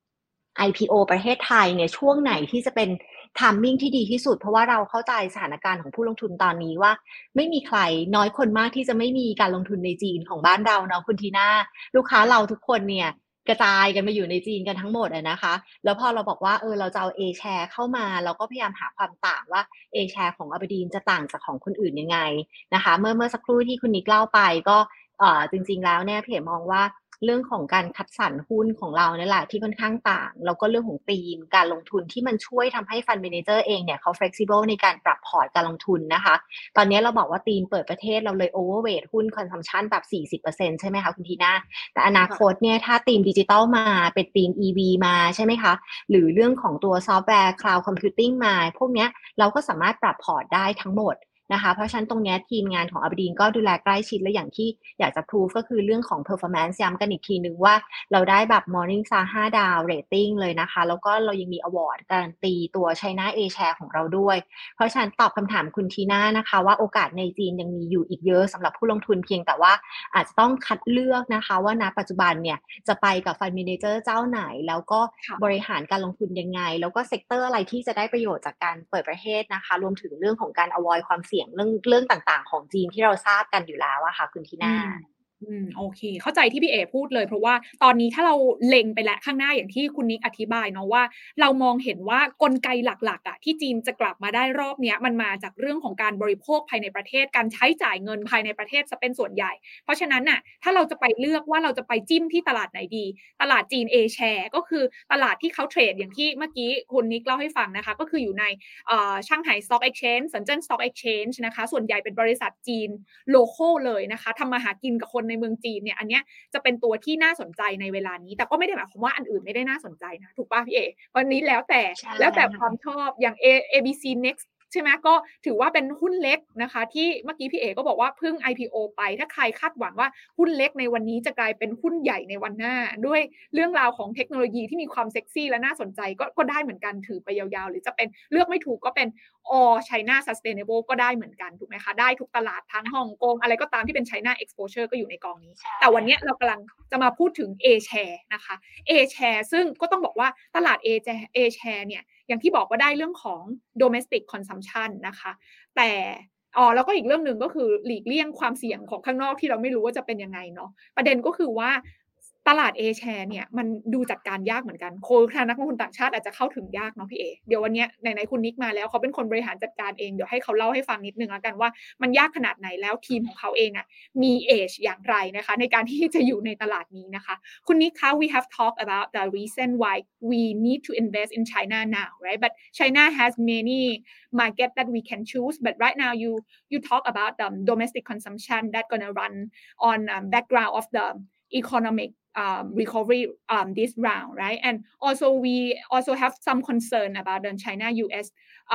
IPO ประเทศไทยเนี่ยช่วงไหนที่จะเป็นtiming ที่ดีที่สุดเพราะว่าเราเข้าใจสถานการณ์ของผู้ลงทุนตอนนี้ว่าไม่มีใครน้อยคนมากที่จะไม่มีการลงทุนในจีนของบ้านเราเนาะคุณทีน่าลูกค้าเราทุกคนเนี่ยกระจายกันมาอยู่ในจีนกันทั้งหมดนะคะแล้วพอเราบอกว่าเราจะเอา A share เข้ามาเราก็พยายามหาความต่างว่า A share ของอับดีนจะต่างจากของคนอื่นยังไงนะคะเมื่อสักครู่ที่คุณนิกเล่าไปก็จริงๆแล้วเนี่ยพี่มองว่าเรื่องของการคัดสรรหุ้นของเราเนี่ยแหละที่ค่อนข้างต่างแล้วก็เรื่องของธีมการลงทุนที่มันช่วยทำให้ Fund Manager เองเนี่ยเขา flexible ในการปรับพอร์ตการลงทุนนะคะตอนนี้เราบอกว่าธีมเปิดประเทศเราเลย overweight หุ้น consumption แบบ 40% ใช่ไหมคะคุณทีน่าแต่อนาคตเนี่ยถ้าธีมดิจิทัลมาเป็นธีม EV มาใช่ไหมคะหรือเรื่องของตัวซอฟต์แวร์ Cloud Computing มาพวกเนี้ยเราก็สามารถปรับพอร์ตได้ทั้งหมดนะคะเพราะฉะนั้นตรงนี้ทีมงานของอับดีนก็ดูแลใกล้ชิดและอย่างที่อยากจะพูดก็คือเรื่องของ performance ย้ำกันอีกทีนึงว่าเราได้แบบ Morningstar 5 ดาว rating เลยนะคะแล้วก็เรายังมี award การันตีตัว China A Share ของเราด้วยเพราะฉะนั้นตอบคำถามคุณทีน่านะคะว่าโอกาสในจีนยังมีอยู่อีกเยอะสำหรับผู้ลงทุนเพียงแต่ว่าอาจจะต้องคัดเลือกนะคะว่าณปัจจุบันเนี่ยจะไปกับ Fund Manager เจ้าไหนแล้วก็บริหารการลงทุนยังไงแล้วก็เซกเตอร์อะไรที่จะได้ประโยชน์จากการเปิดประเทศนะคะรวมถึงเรื่องของการ avoid ความเสี่ยงเรื่องต่างๆของจีนที่เราทราบกันอยู่แล้วอะค่ะคุณทีน่าโอเคเข้าใจที่พี่เอพูดเลยเพราะว่าตอนนี้ถ้าเราเล็งไปแล้วข้างหน้าอย่างที่คุณนิกอธิบายเนาะว่าเรามองเห็นว่ากลไกหลักๆที่จีนจะกลับมาได้รอบเนี้ยมันมาจากเรื่องของการบริโภคภายในประเทศการใช้จ่ายเงินภายในประเทศจะเป็นส่วนใหญ่เพราะฉะนั้นน่ะถ้าเราจะไปเลือกว่าเราจะไปจิ้มที่ตลาดไหนดีตลาดจีน A share ก็คือตลาดที่เขาเทรดอย่างที่เมื่อกี้คุณนิกเล่าให้ฟังนะคะก็คืออยู่ในช่างไห่ Stock Exchange เซินเจิ้น Stock Exchange นะคะส่วนใหญ่เป็นบริษัทจีนโลคอลเลยนะคะทำมาหากินกับคนในเมืองจีนเนี่ยอันเนี้ยจะเป็นตัวที่น่าสนใจในเวลานี้แต่ก็ไม่ได้หมายความว่าอันอื่นไม่ได้น่าสนใจนะถูกป่ะพี่เอวันนี้แล้วแต่ความชอบอย่าง ABC Next ใช่ไหมก็ถือว่าเป็นหุ้นเล็กนะคะที่เมื่อกี้พี่เอก็บอกว่าเพิ่ง IPO ไปถ้าใครคาดหวังว่าหุ้นเล็กในวันนี้จะกลายเป็นหุ้นใหญ่ในวันหน้าด้วยเรื่องราวของเทคโนโลยีที่มีความเซ็กซี่และน่าสนใจก็ได้เหมือนกันถือไปยาวๆหรือจะเป็นเลือกไม่ถูกก็เป็นAll China Sustainable ก็ได้เหมือนกันถูกไหมคะได้ทุกตลาดทั้งฮ่องกงอะไรก็ตามที่เป็น China Exposure ก็อยู่ในกองนี้แต่วันนี้เรากำลังจะมาพูดถึง A Share นะคะ A Share ซึ่งก็ต้องบอกว่าตลาด A Share เนี่ยอย่างที่บอกว่าได้เรื่องของ domestic consumption นะคะแต่แล้วก็อีกเรื่องหนึ่งก็คือหลีกเลี่ยงความเสี่ยงของข้างนอกที่เราไม่รู้ว่าจะเป็นยังไงเนาะประเด็นก็คือว่าตลาด A share เนี่ยมันดูจัดการยากเหมือนกันทางนักลงทุนต่างชาติอาจจะเข้าถึงยากเนาะพี่เอเดี๋ยววันนี้ไหนๆคุณนิกมาแล้วเขาเป็นคนบริหารจัดการเองเดี๋ยวให้เขาเล่าให้ฟังนิดนึงแล้วกันว่ามันยากขนาดไหนแล้วทีมของเขาเองมี age อย่างไรนะคะในการที่จะอยู่ในตลาดนี้นะคะคุณนิกคะ we have talked about the reason why we need to invest in China now right but China has many market that we can choose but right now you talk about the domestic consumption that gonna run on background of the economic recovery this round, right? And also we also have some concern about the China-US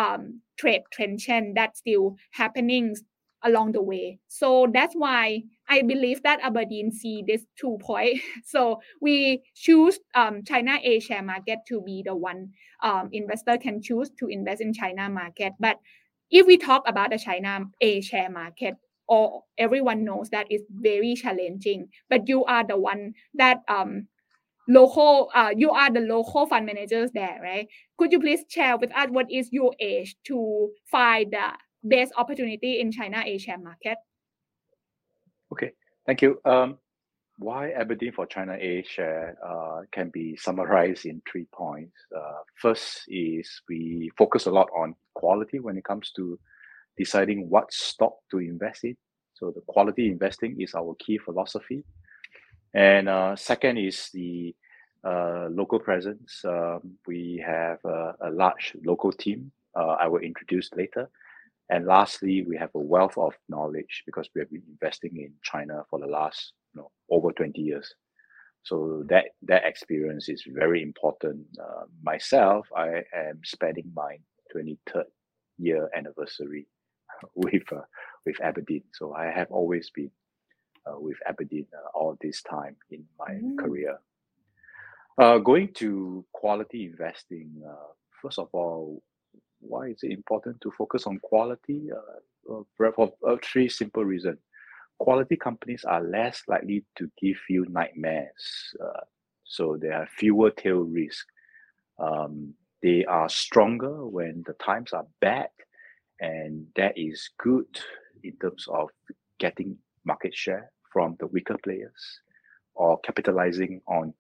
trade tension that's still happening along the way. So that's why I believe that Aberdeen see this 2 point. So we choose China A share market to be the one investor can choose to invest in China market. But if we talk about the China A share market, or everyone knows that it's very challenging, but you are the one that you are the local fund managers there, right? Could you please share with us what is your age to find the best opportunity in China A share market? Okay, thank you. Why Aberdeen for China A share can be summarized in 3 points. First is we focus a lot on quality when it comes to deciding what stock to invest in. So the quality investing is our key philosophy. And second is local presence. We have a large local team. I will introduce later. And lastly, we have a wealth of knowledge because we have been investing in China for the last, over 20 years. So that experience is very important. Myself, I am spending my 23rd year anniversary with Aberdeen. So I have always been with Aberdeen all this time in my career. Going to quality investing, first of all, why is it important to focus on quality? For three simple reasons. Quality companies are less likely to give you nightmares, so there are fewer tail risks. They are stronger when the times are bad, and that is good in terms of getting market share from the weaker players or capitalizing on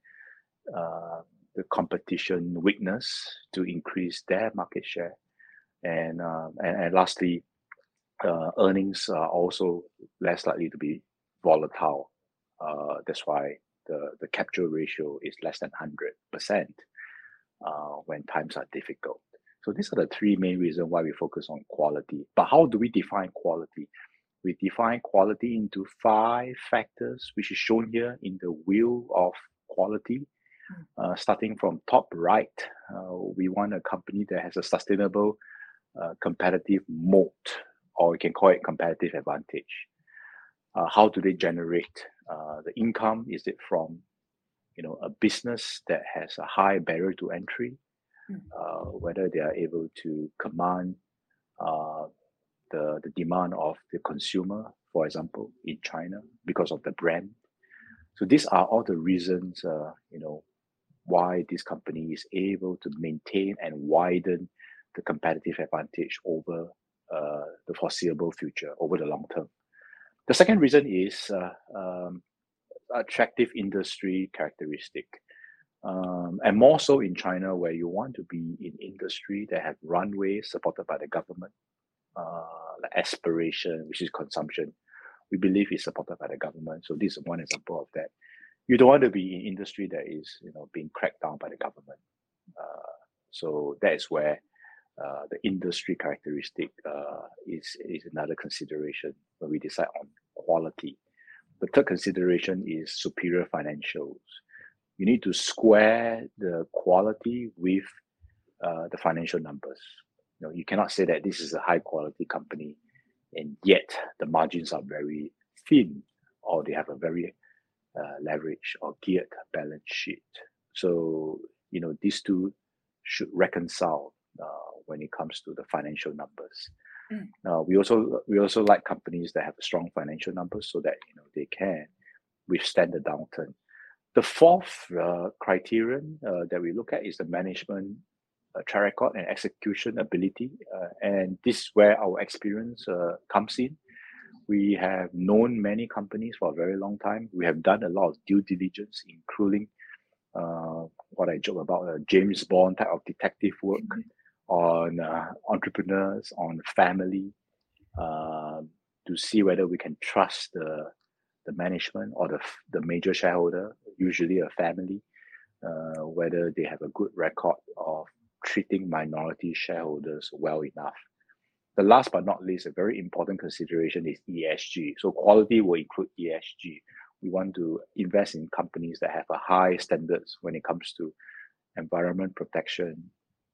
the competition weakness to increase their market share. And lastly, earnings are also less likely to be volatile. That's why the capture ratio is less than 100% when times are difficult. So these are the three main reasons why we focus on quality. But how do we define quality? We define quality into 5 factors, which is shown here in the wheel of quality. Starting from top right, we want a company that has a sustainable competitive moat, or we can call it competitive advantage. How do they generate the income? Is it from a business that has a high barrier to entry, whether they are able to command the demand of the consumer, for example, in China because of the brand. So these are all the reasons why this company is able to maintain and widen the competitive advantage over the foreseeable future, over the long term. The second reason is attractive industry characteristic. And more so in China, where you want to be in industry that have runways supported by the government, like aspiration, which is consumption. We believe is supported by the government. So this is one example of that. You don't want to be in industry that is being cracked down by the government. So that is where the industry characteristic is another consideration when we decide on quality. The third consideration is superior financials. You need to square the quality with the financial numbers. You cannot say that this is a high quality company and yet the margins are very thin, or they have a very leverage or geared balance sheet. So these two should reconcile when it comes to the financial numbers. We also like companies that have strong financial numbers so that they can withstand the downturn. The fourth criterion that we look at is the management track record and execution ability, and this is where our experience comes in. We have known many companies for a very long time. We have done a lot of due diligence, including what I joke about, James Bond type of detective work on entrepreneurs, on family, to see whether we can trust the management or the major shareholder, usually a family, whether they have a good record of treating minority shareholders well enough. The last but not least, a very important consideration is ESG. So quality will include ESG. We want to invest in companies that have a high standards when it comes to environment protection,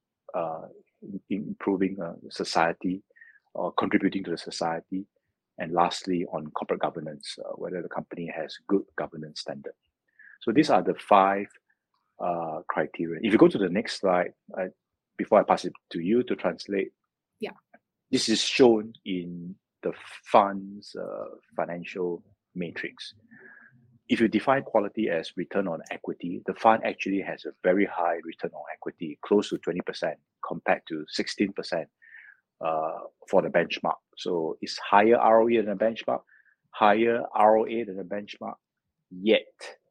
improving society or contributing to the society, and lastly on corporate governance, whether the company has good governance standard. So these are the 5 criteria. If you go to the next slide, before I pass it to you to translate, this is shown in the fund's financial matrix. If you define quality as return on equity, the fund actually has a very high return on equity, close to 20% compared to 16% for the benchmark. So it's higher ROE than the benchmark, higher ROA than the benchmark, yet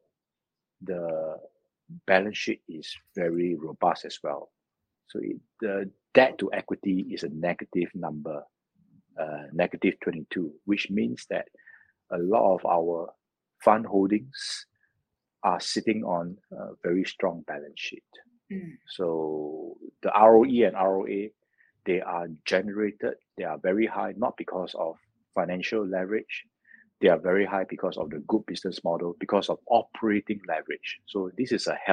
the balance sheet is very robust as well. So the debt to equity is a negative number, negative 22, which means that a lot of our fund holdings are sitting on a very strong balance sheet. Mm. So the ROE and ROA, they are generated, they are very high, not because of financial leverage. They are very high because of the good business model, because of operating leverage. So this is a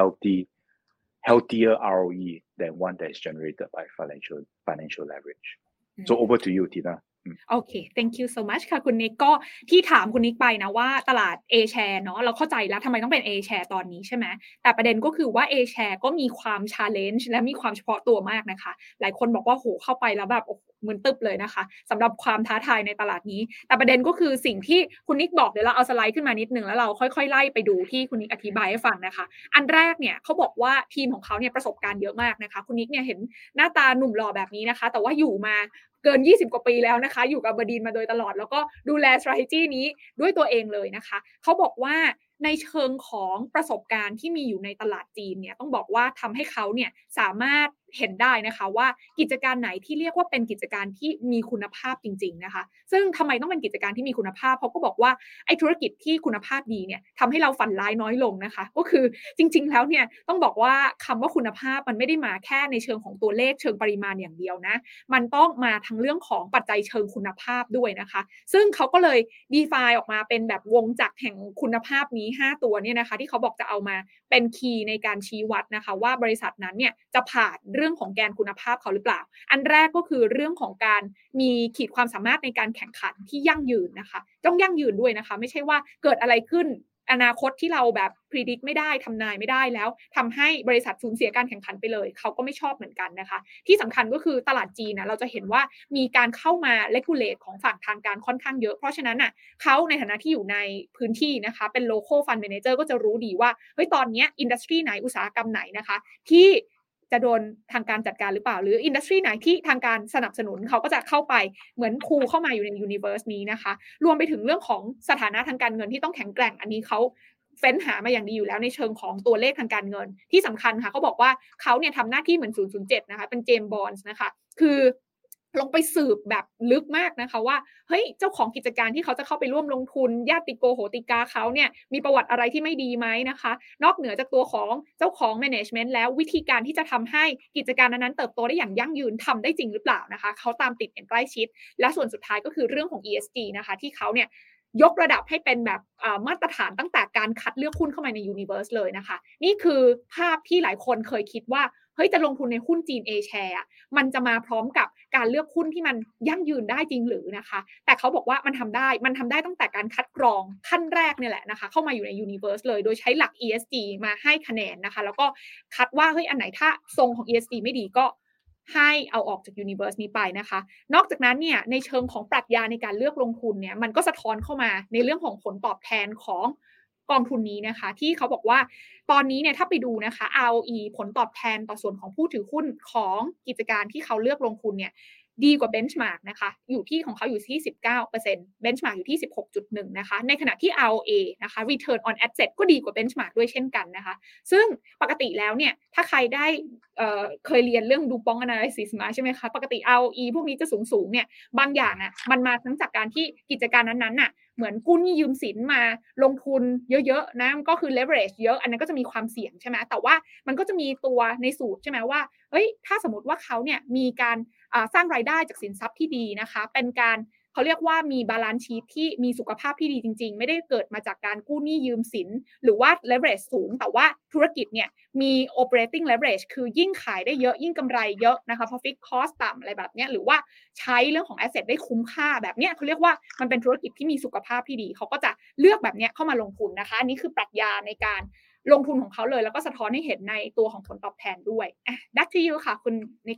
healthier ROE than one that is generated by financial leverage. So over to you, Tina. โอเค thank you so much ค่ะคุณนิกก็ที่ถามคุณนิกไปนะว่าตลาด A share เนาะเราเข้าใจแล้วทำไมต้องเป็น A share ตอนนี้ใช่ไหมแต่ประเด็นก็คือว่า A share ก็มีความ challenge และมีความเฉพาะตัวมากนะคะหลายคนบอกว่าโหเข้าไปแล้วแบบมึนตึบเลยนะคะสำหรับความท้าทายในตลาดนี้แต่ประเด็นก็คือสิ่งที่คุณนิกบอกเดี๋ยวเราเอาสไลด์ขึ้นมานิดนึงแล้วเราค่อยๆไล่ไปดูที่คุณนิกอธิบายให้ฟังนะคะอันแรกเนี่ยเขาบอกว่าทีมของเขาเนี่ยประสบการณ์เยอะมากนะคะคุณนิกเนี่ยเห็นหน้าตาหนุ่มหล่อแบบนี้นะคะแต่ว่าอยู่มาเกิน20กว่าปีแล้วนะคะอยู่กับAberdeenมาโดยตลอดแล้วก็ดูแล strategy นี้ด้วยตัวเองเลยนะคะเขาบอกว่าในเชิงของประสบการณ์ที่มีอยู่ในตลาดจีนเนี่ยต้องบอกว่าทำให้เขาเนี่ยสามารถเห็นได้นะคะว่ากิจการไหนที่เรียกว่าเป็นกิจการที่มีคุณภาพจริงๆนะคะซึ่งทำไมต้องเป็นกิจการที่มีคุณภาพเขาก็บอกว่าไอ้ธุรกิจที่คุณภาพดีเนี่ยทำให้เราฝันร้ายน้อยลงนะคะก็คือจริงๆแล้วเนี่ยต้องบอกว่าคำว่าคุณภาพมันไม่ได้มาแค่ในเชิงของตัวเลขเชิงปริมาณอย่างเดียวนะมันต้องมาทั้งเรื่องของปัจจัยเชิงคุณภาพด้วยนะคะซึ่งเขาก็เลย define ออกมาเป็นแบบวงจักรแห่งคุณภาพนี้5ตัวเนี่ยนะคะที่เขาบอกจะเอามาเป็นคีย์ในการชี้วัดนะคะว่าบริษัทนั้นเนี่ยจะผ่านเรื่องของแกนคุณภาพเขาหรือเปล่าอันแรกก็คือเรื่องของการมีขีดความสามารถในการแข่งขันที่ยั่งยืนนะคะต้องยั่งยืนด้วยนะคะไม่ใช่ว่าเกิดอะไรขึ้นอนาคตที่เราแบบ predict ไม่ได้ทำนายไม่ได้แล้วทำให้บริษัทสูญเสียการแข่งขันไปเลยเขาก็ไม่ชอบเหมือนกันนะคะที่สำคัญก็คือตลาดจีนนะเราจะเห็นว่ามีการเข้ามา regulate ของฝั่งทางการค่อนข้างเยอะเพราะฉะนั้นน่ะเขาในฐานะที่อยู่ในพื้นที่นะคะเป็น local fund manager ก็จะรู้ดีว่าเฮ้ยตอนนี้อินดัสทรีไหนอุตสาหกรรมไหนนะคะที่จะโดนทางการจัดการหรือเปล่าหรืออินดัสทรีไหนที่ทางการสนับสนุนเขาก็จะเข้าไปเหมือนพูเข้ามาอยู่ในยูนิเวอร์สนี้นะคะรวมไปถึงเรื่องของสถานะทางการเงินที่ต้องแข็งแกร่งอันนี้เขาเฟ้นหามาอย่างดีอยู่แล้วในเชิงของตัวเลขทางการเงินที่สำคัญค่ะเขาบอกว่าเขาเนี่ยทำหน้าที่เหมือน007นะคะเป็นเจมส์บอนด์นะคะคือลงไปสืบแบบลึกมากนะคะว่าเฮ้ยเจ้าของกิจการที่เขาจะเข้าไปร่วมลงทุนญาติโกโหติกาเขาเนี่ยมีประวัติอะไรที่ไม่ดีไหมนะคะนอกเหนือจากตัวของเจ้าของ management แล้ววิธีการที่จะทำให้กิจการนั้นๆเติบโตได้อย่างยั่งยืนทำได้จริงหรือเปล่านะคะเขาตามติดอย่างใกล้ชิดและส่วนสุดท้ายก็คือเรื่องของ ESG นะคะที่เขาเนี่ยยกระดับให้เป็นแบบมาตรฐานตั้งแต่การคัดเลือกหุ้นเข้ามาใน Universe เลยนะคะนี่คือภาพที่หลายคนเคยคิดว่าเฮ้ยจะลงทุนในหุ้นจีน A share มันจะมาพร้อมกับการเลือกหุ้นที่มันยั่งยืนได้จริงหรือนะคะแต่เขาบอกว่ามันทำได้ตั้งแต่การคัดกรองขั้นแรกเนี่ยแหละนะคะเข้ามาอยู่ใน Universe เลยโดยใช้หลัก ESG มาให้คะแนนนะคะแล้วก็คัดว่าเฮ้ยอันไหนถ้าทรงของ ESG ไม่ดีก็ให้เอาออกจาก Universe นี้ไปนะคะนอกจากนั้นเนี่ยในเชิงของปรัชญาในการเลือกลงทุนเนี่ยมันก็สะท้อนเข้ามาในเรื่องของผลตอบแทนของกองทุนนี้นะคะที่เขาบอกว่าตอนนี้เนี่ยถ้าไปดูนะคะ ROE ผลตอบแทนต่อส่วนของผู้ถือหุ้นของกิจการที่เขาเลือกลงทุนเนี่ยดีกว่าเบนช์มาร์กนะคะอยู่ที่ของเขาอยู่ที่ 19% เบนช์มาร์กอยู่ที่ 16.1 นะคะในขณะที่ ROA นะคะ Return on Asset ก็ดีกว่าเบนช์มาร์กด้วยเช่นกันนะคะซึ่งปกติแล้วเนี่ยถ้าใครได้เคยเรียนเรื่องดูปอง analysis มาใช่ไหมคะปกติ ROE พวกนี้จะสูงเนี่ยบางอย่างอ่ะมันมาทั้งจากการที่กิจการนั้นๆน่ะเหมือนกู้หนี้ยืมสินมาลงทุนเยอะๆนะก็คือ leverage เยอะอันนั้นก็จะมีความเสี่ยงใช่ไหมแต่ว่ามันก็จะมีตัวในสูตรใช่ไหมว่าเฮ้ยถ้าสมมติว่าเขาเนี่ยมีการสร้างรายได้จากสินทรัพย์ที่ดีนะคะเป็นการเขาเรียกว่ามีบาลานซ์ชีทที่มีสุขภาพที่ดีจริงๆไม่ได้เกิดมาจากการกู้หนี้ยืมสินหรือว่า leverage สูงแต่ว่าธุรกิจเนี่ยมี operating leverage คือยิ่งขายได้เยอะยิ่งกำไรเยอะนะคะเพราะ fixed cost ต่ำอะไรแบบนี้หรือว่าใช้เรื่องของ asset ได้คุ้มค่าแบบนี้เขาเรียกว่ามันเป็นธุรกิจที่มีสุขภาพที่ดีเขาก็จะเลือกแบบนี้เข้ามาลงทุนนะคะอันนี้คือปรัชญาในการลงทุนของเขาเลยแล้วก็สะท้อนให้เห็นในตัวของผลตอบแทนด้วยback to you ค่ะคุณนิก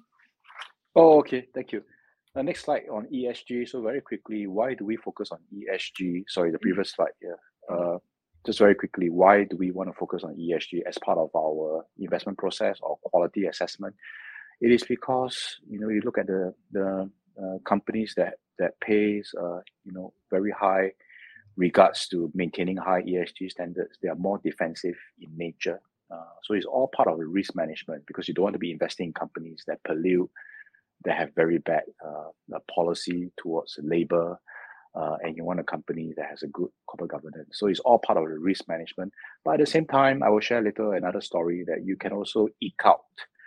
Oh, okay. Thank you. Next slide on ESG. So very quickly, why do we focus on ESG? Sorry, the previous slide here. Just very quickly, why do we want to focus on ESG as part of our investment process or quality assessment? It is because, you look at the companies that pays, very high regards to maintaining high ESG standards. They are more defensive in nature. So it's all part of the risk management because you don't want to be investing in companies that pollute, that have very bad policy towards labor, and you want a company that has a good corporate governance. So it's all part of the risk management. But at the same time, I will share another story that you can also eke out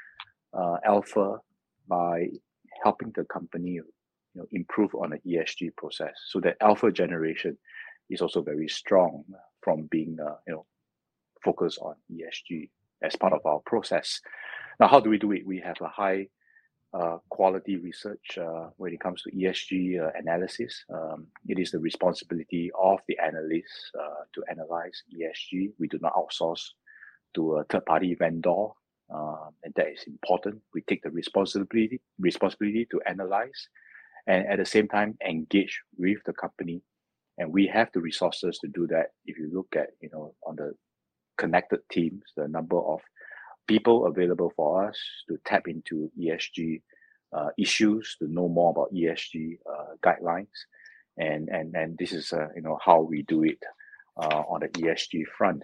alpha by helping the company improve on the ESG process. So that alpha generation is also very strong from being focused on ESG as part of our process. Now, how do we do it? We have a high quality research when it comes to ESG analysis. It is the responsibility of the analysts to analyze ESG. We do not outsource to a third-party vendor, and that is important. We take the responsibility to analyze, and at the same time engage with the company. And we have the resources to do that. If you look at on the connected teams, the number of people available for us to tap into ESG issues, to know more about ESG guidelines, and this is how we do it on the ESG front.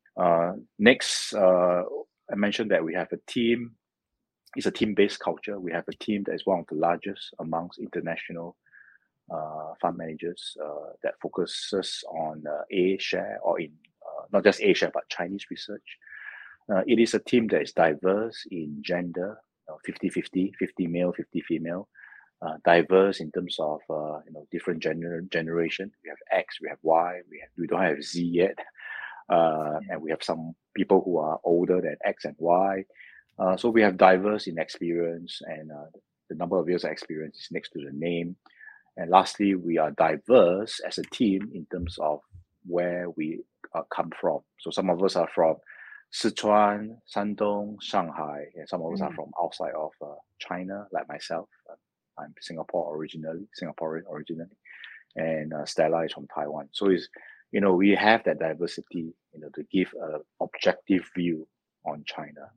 Next, I mentioned that we have a team. It's a team-based culture. We have a team that is one of the largest amongst international fund managers that focuses on A-share or in not just A-share but Chinese research. It is a team that is diverse in gender, 50-50, 50 male, 50 female, diverse in terms of different generation. We have X, we have Y, we don't have Z yet, and we have some people who are older than X and Y. So we have diverse in experience, and the number of years of experience is next to the name. And lastly, we are diverse as a team in terms of where we come from. So some of us are from Sichuan, Shandong, Shanghai, and some of us are from outside of China, like myself. I'm Singaporean originally, and Stella is from Taiwan. So it's we have that diversity, to give an objective view on China.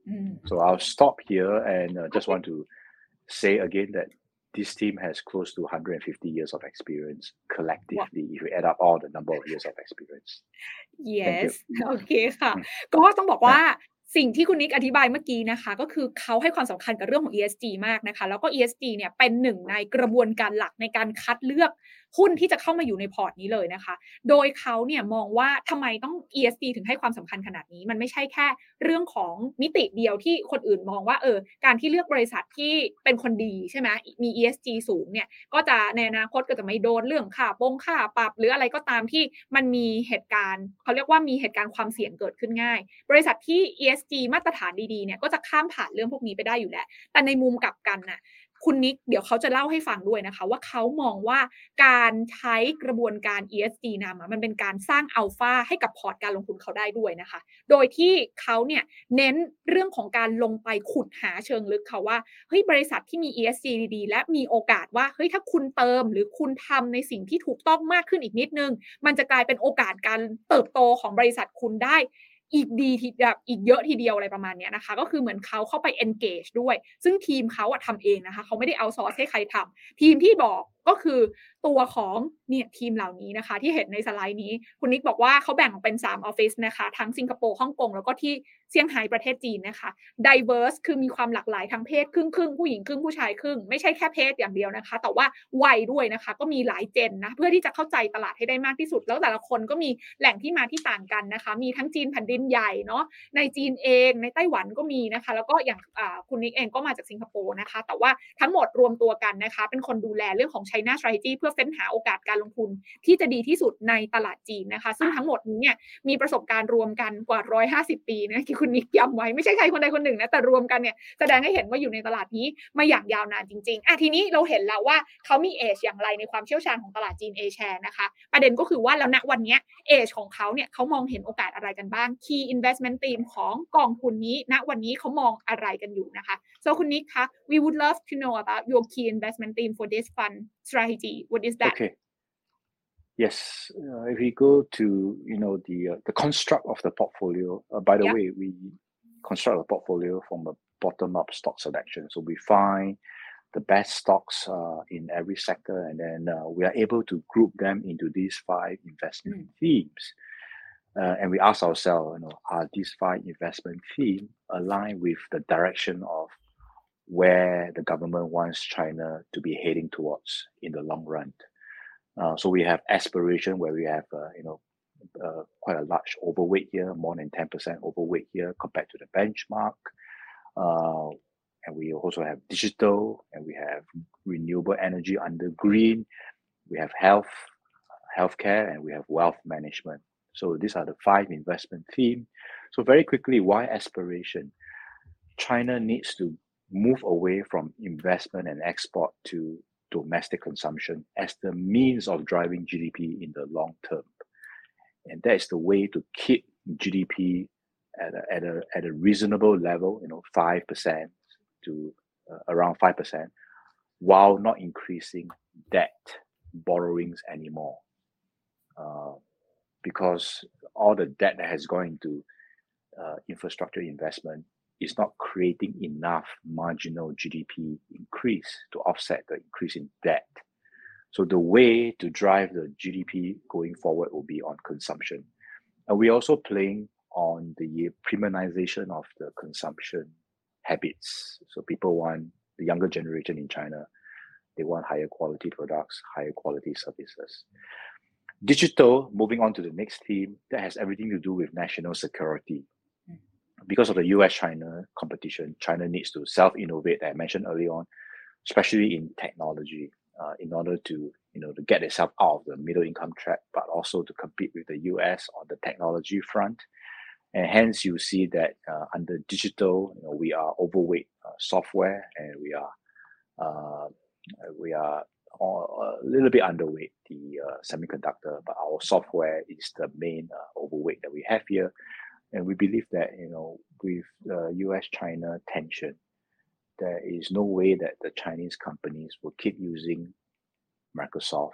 So I'll stop here and just want to say again that this team has close to 150 years of experience collectively, if we add up all the number of years of experience. Yes โอเคค่ะ ก็ต้องบอกว่าสิ่งที่คุณนิกอธิบายเมื่อกี้นะคะก็คือเขาให้ความสำคัญกับเรื่องของ ESG มากนะคะแล้วก็ ESG เนี่ยเป็นหนึ่งในกระบวนการหลักในการคัดเลือกหุ้นที่จะเข้ามาอยู่ในพอร์ตนี้เลยนะคะโดยเขาเนี่ยมองว่าทำไมต้อง ESG ถึงให้ความสำคัญขนาดนี้มันไม่ใช่แค่เรื่องของมิติเดียวที่คนอื่นมองว่าการที่เลือกบริษัทที่เป็นคนดีใช่ไหมมี ESG สูงเนี่ยก็จะในอนาคตก็จะไม่โดนเรื่องค่าปรับหรืออะไรก็ตามที่มันมีเหตุการณ์เขาเรียกว่ามีเหตุการณ์ความเสี่ยงเกิดขึ้นง่ายบริษัทที่ ESG มาตรฐานดีๆเนี่ยก็จะข้ามผ่านเรื่องพวกนี้ไปได้อยู่แล้วแต่ในมุมกลับกันน่ะคุณนิกเดี๋ยวเขาจะเล่าให้ฟังด้วยนะคะว่าเขามองว่าการใช้กระบวนการ ESG นำมันเป็นการสร้างอัลฟาให้กับพอร์ตการลงทุนเขาได้ด้วยนะคะโดยที่เขาเนี่ยเน้นเรื่องของการลงไปขุดหาเชิงลึกค่ะว่าเฮ้ยบริษัทที่มี ESG ดีๆและมีโอกาสว่าเฮ้ยถ้าคุณเติมหรือคุณทำในสิ่งที่ถูกต้องมากขึ้นอีกนิดนึงมันจะกลายเป็นโอกาสการเติบโตของบริษัทคุณได้อีกเยอะทีเดียวอะไรประมาณนี้นะคะก็คือเหมือนเขาเข้าไป engage ด้วยซึ่งทีมเขาทำเองนะคะเขาไม่ได้เอาซอร์สให้ใครทำทีมที่บอกก็คือตัวของเนี่ยทีมเหล่านี้นะคะที่เห็นในสไลด์นี้คุณนิกบอกว่าเขาแบ่งออกเป็น3ออฟฟิศนะคะทั้งสิงคโปร์ฮ่องกงแล้วก็ที่เซี่ยงไฮ้ประเทศจีนนะคะ diverse คือมีความหลากหลายทางเพศครึ่งผู้หญิงครึ่งผู้ชายครึ่งไม่ใช่แค่เพศอย่างเดียวนะคะแต่ว่าวัยด้วยนะคะก็มีหลายเจนนะเพื่อที่จะเข้าใจตลาดให้ได้มากที่สุดแล้วแต่ละคนก็มีแหล่งที่มาที่ต่างกันนะคะมีทั้งจีนแผ่นดินใหญ่เนาะในจีนเองในไต้หวันก็มีนะคะแล้วก็อย่างคุณนิกเองก็มาจากสิงคโปร์นะคะแต่ว่าทั้งหมดรวมตัวกันนะคะเป็นคนดูแลเรื่องของ China Strategy เพื่อเฟ้นหาโอกาสการลงทุนที่จะดีที่สุดในตลาดจีนนะคะซึ่งทั้งหมดนี้เนี่ยมีประสบการณ์รวมกันกว่า150ปีนะที่คุณนิกย้ำไว้ไม่ใช่ใครคนใดคนหนึ่งนะแต่รวมกันเนี่ยแสดงให้เห็นว่าอยู่ในตลาดนี้มาอย่างยาวนานจริงๆทีนี้เราเห็นแล้วว่าเขามีเอจอย่างไรในความเชี่ยวชาญของตลาดจีน A-share นะคะประเด็นก็คือว่าแล้วณวันนี้เอจของเขาเนี่ยเขามองเห็นโอกาสอะไรกันบ้าง Key Investment Theme ของกองทุนนี้ณวันนี้เขามองอะไรกันอยู่นะคะ So คุณนิกคะ We would love to know about your key investment theme for this fund strategy. What is that? Okay. Yes, if we go to the construct of the portfolio. By the way, we construct a portfolio from a bottom-up stock selection. So we find the best stocks in every sector, and then we are able to group them into these 5 investment themes. And we ask ourselves, are these 5 investment themes aligned with the direction of where the government wants China to be heading towards in the long run? So we have aspiration where we have, quite a large overweight here, more than 10% overweight here compared to the benchmark. And we also have digital, and we have renewable energy under green. We have healthcare, and we have wealth management. So these are the 5 investment themes. So very quickly, why aspiration? China needs to move away from investment and export to domestic consumption as the means of driving GDP in the long term. And that is the way to keep GDP at a reasonable level, 5% to around 5%, while not increasing debt borrowings anymore. Because all the debt that has gone into infrastructure investment is not creating enough marginal GDP increase to offset the increase in debt. So the way to drive the GDP going forward will be on consumption. And we're also playing on the premiumization of the consumption habits. So people want, the younger generation in China, they want higher quality products, higher quality services. Digital, moving on to the next theme, that has everything to do with national security. Because of the US-China competition, China needs to self-innovate, as I mentioned earlier on, especially in technology, in order to get itself out of the middle income trap, but also to compete with the US on the technology front. And hence you see that under digital, we are overweight software, and we are a little bit underweight the semiconductor, but our software is the main overweight that we have here. And we believe that, with US-China tension, there is no way that the Chinese companies will keep using Microsoft,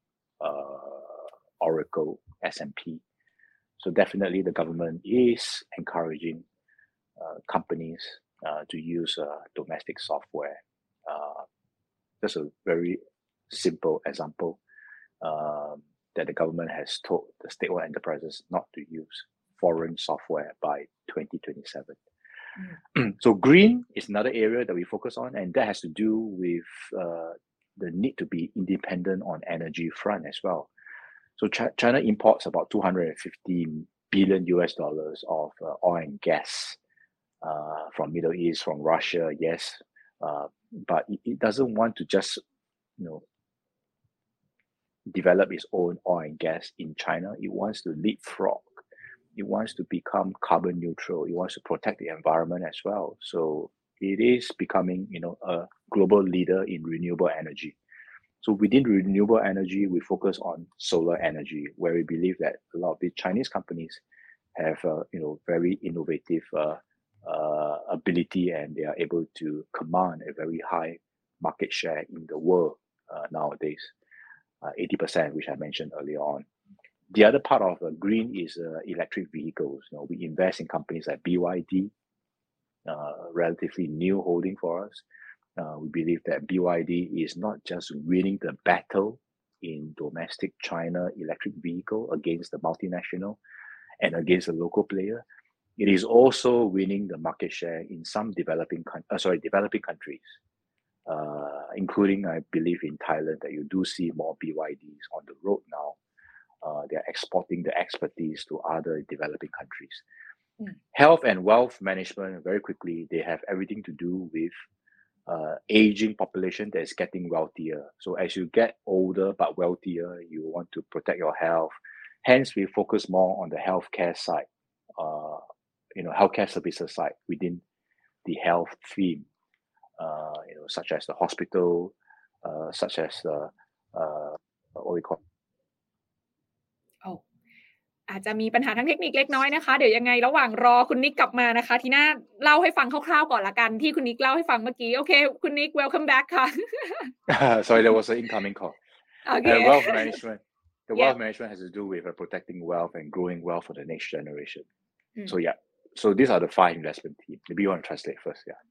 Oracle, S&P. So definitely the government is encouraging companies to use domestic software. Just a very simple example that the government has told the state-owned enterprises not to use foreign software by 2027. So green is another area that we focus on, and that has to do with the need to be independent on energy front as well. So China imports about $250 billion of oil and gas from Middle East, from Russia, yes, but it doesn't want to just develop its own oil and gas in China. It wants to leapfrog. It wants to become carbon neutral. It wants to protect the environment as well. So it is becoming, a global leader in renewable energy. So within renewable energy, we focus on solar energy, where we believe that a lot of the Chinese companies have, very innovative ability, and they are able to command a very high market share in the world nowadays, 80%, which I mentioned earlier on. The other part of green is electric vehicles. We invest in companies like BYD, relatively new holding for us. We believe that BYD is not just winning the battle in domestic China electric vehicle against the multinational and against the local player. It is also winning the market share in some developing countries, including, I believe, in Thailand, that you do see more BYDs on the road now. They are exporting the expertise to other developing countries. Health and wealth management, very quickly, they have everything to do with aging population that is getting wealthier. So as you get older but wealthier, you want to protect your health. Hence, we focus more on the healthcare side, healthcare services side within the health theme, such as the hospital, such as what we call อาจจะมีปัญหาทางเทคนิคเล็กน้อยนะคะเดี๋ยวยังไงระหว่างรอคุณนิกกลับมานะคะทีน่าเล่าให้ฟังคร่าวๆก่อนละกันที่คุณนิกเล่าให้ฟังเมื่อกี้โอเคคุณนิก welcome back ค่ะ Sorry, there was an incoming call. Okay. Wealth management. The wealth management has to do with protecting wealth and growing wealth for the next generation. So these are the 5 investment themes. Maybe you want to translate first,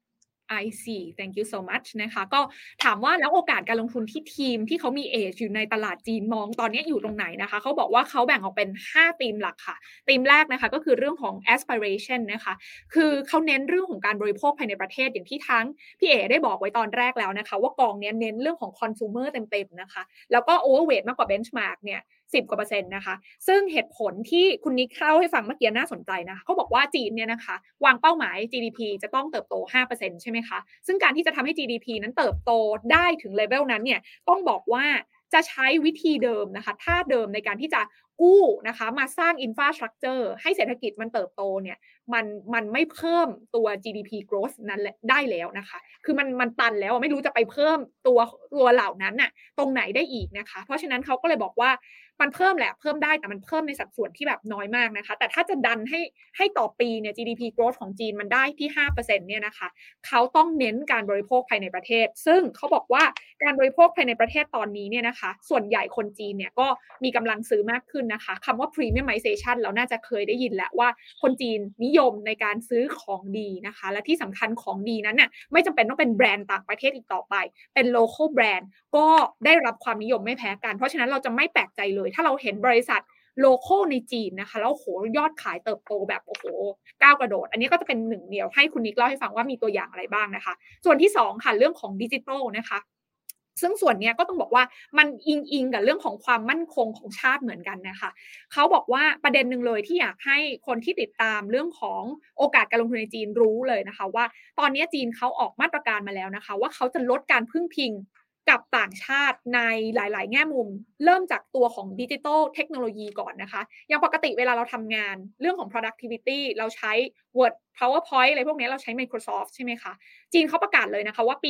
I see thank you so much นะคะก็ถามว่าแล้วโอกาสการลงทุนที่ทีมที่เขามี edge อยู่ในตลาดจีนมองตอนนี้อยู่ตรงไหนนะคะเขาบอกว่าเขาแบ่งออกเป็น5ธีมหลักค่ะธีมแรกนะคะก็คือเรื่องของ aspiration นะคะคือเขาเน้นเรื่องของการบริโภคภายในประเทศอย่างที่ทั้งพี่เอ๋ได้บอกไว้ตอนแรกแล้วนะคะว่ากองนี้เน้นเรื่องของ consumer เต็มๆนะคะแล้วก็ overweight มากกว่า benchmark เนี่ย10 กว่า%นะคะซึ่งเหตุผลที่คุณนิกเล่าให้ฟังเมื่อกี้น่าสนใจนะเขาบอกว่าจีนเนี่ยนะคะวางเป้าหมาย GDP จะต้องเติบโต 5% ใช่ไหมคะซึ่งการที่จะทำให้ GDP นั้นเติบโตได้ถึงเลเวลนั้นเนี่ยต้องบอกว่าจะใช้วิธีเดิมนะคะท่าเดิมในการที่จะกู้นะคะมาสร้าง infrastructure ให้เศรษฐกิจมันเติบโตเนี่ยมันไม่เพิ่มตัว GDP growth นั้นได้แล้วนะคะคือมันตันแล้วไม่รู้จะไปเพิ่มตัวเหล่านั้นน่ะตรงไหนได้อีกนะคะเพราะฉะนั้นเขาก็เลยบอกว่ามันเพิ่มแหละเพิ่มได้แต่มันเพิ่มในสัดส่วนที่แบบน้อยมากนะคะแต่ถ้าจะดันให้ต่อปีเนี่ย GDP growth ของจีนมันได้ที่ 5% เนี่ยนะคะเขาต้องเน้นการบริโภคภายในประเทศซึ่งเขาบอกว่าการบริโภคภายในประเทศตอนนี้เนี่ยนะคะส่วนใหญ่คนจีนเนี่ยก็มีกำลังซื้อมากขึ้นนะคะคำว่า premiumization เราน่าจะเคยได้ยินแล้วว่าคนจีนนิยมในการซื้อของดีนะคะและที่สำคัญของดีนั้นน่ะไม่จำเป็นต้องเป็นแบรนด์ต่างประเทศอีกต่อไปเป็น local brand ก็ได้รับความนิยมไม่แพ้กันเพราะฉะนั้นเราจะไม่แปลกใจเลยถ้าเราเห็นบริษัทโลคอลในจีนนะคะแล้วโหยอดขายเติบโตแบบโอ้โหก้าวกระโดดอันนี้ก็จะเป็นหนึ่งเดียวให้คุณนิกเล่าให้ฟังว่ามีตัวอย่างอะไรบ้างนะคะส่วนที่2ค่ะเรื่องของดิจิทัลนะคะซึ่งส่วนนี้ก็ต้องบอกว่ามันอิงกับเรื่องของความมั่นคงของชาติเหมือนกันนะคะเขาบอกว่าประเด็นหนึ่งเลยที่อยากให้คนที่ติดตามเรื่องของโอกาสการลงทุนในจีนรู้เลยนะคะว่าตอนนี้จีนเขาออกมาตรการมาแล้วนะคะว่าเขาจะลดการพึ่งพิงกับต่างชาติในหลายๆแง่มุมเริ่มจากตัวของดิจิทัลเทคโนโลยีก่อนนะคะอย่างปกติเวลาเราทำงานเรื่องของ productivity เราใช้ Word PowerPoint อะไรพวกนี้เราใช้ Microsoft ใช่ไหมคะจีนเขาประกาศเลยนะคะว่าปี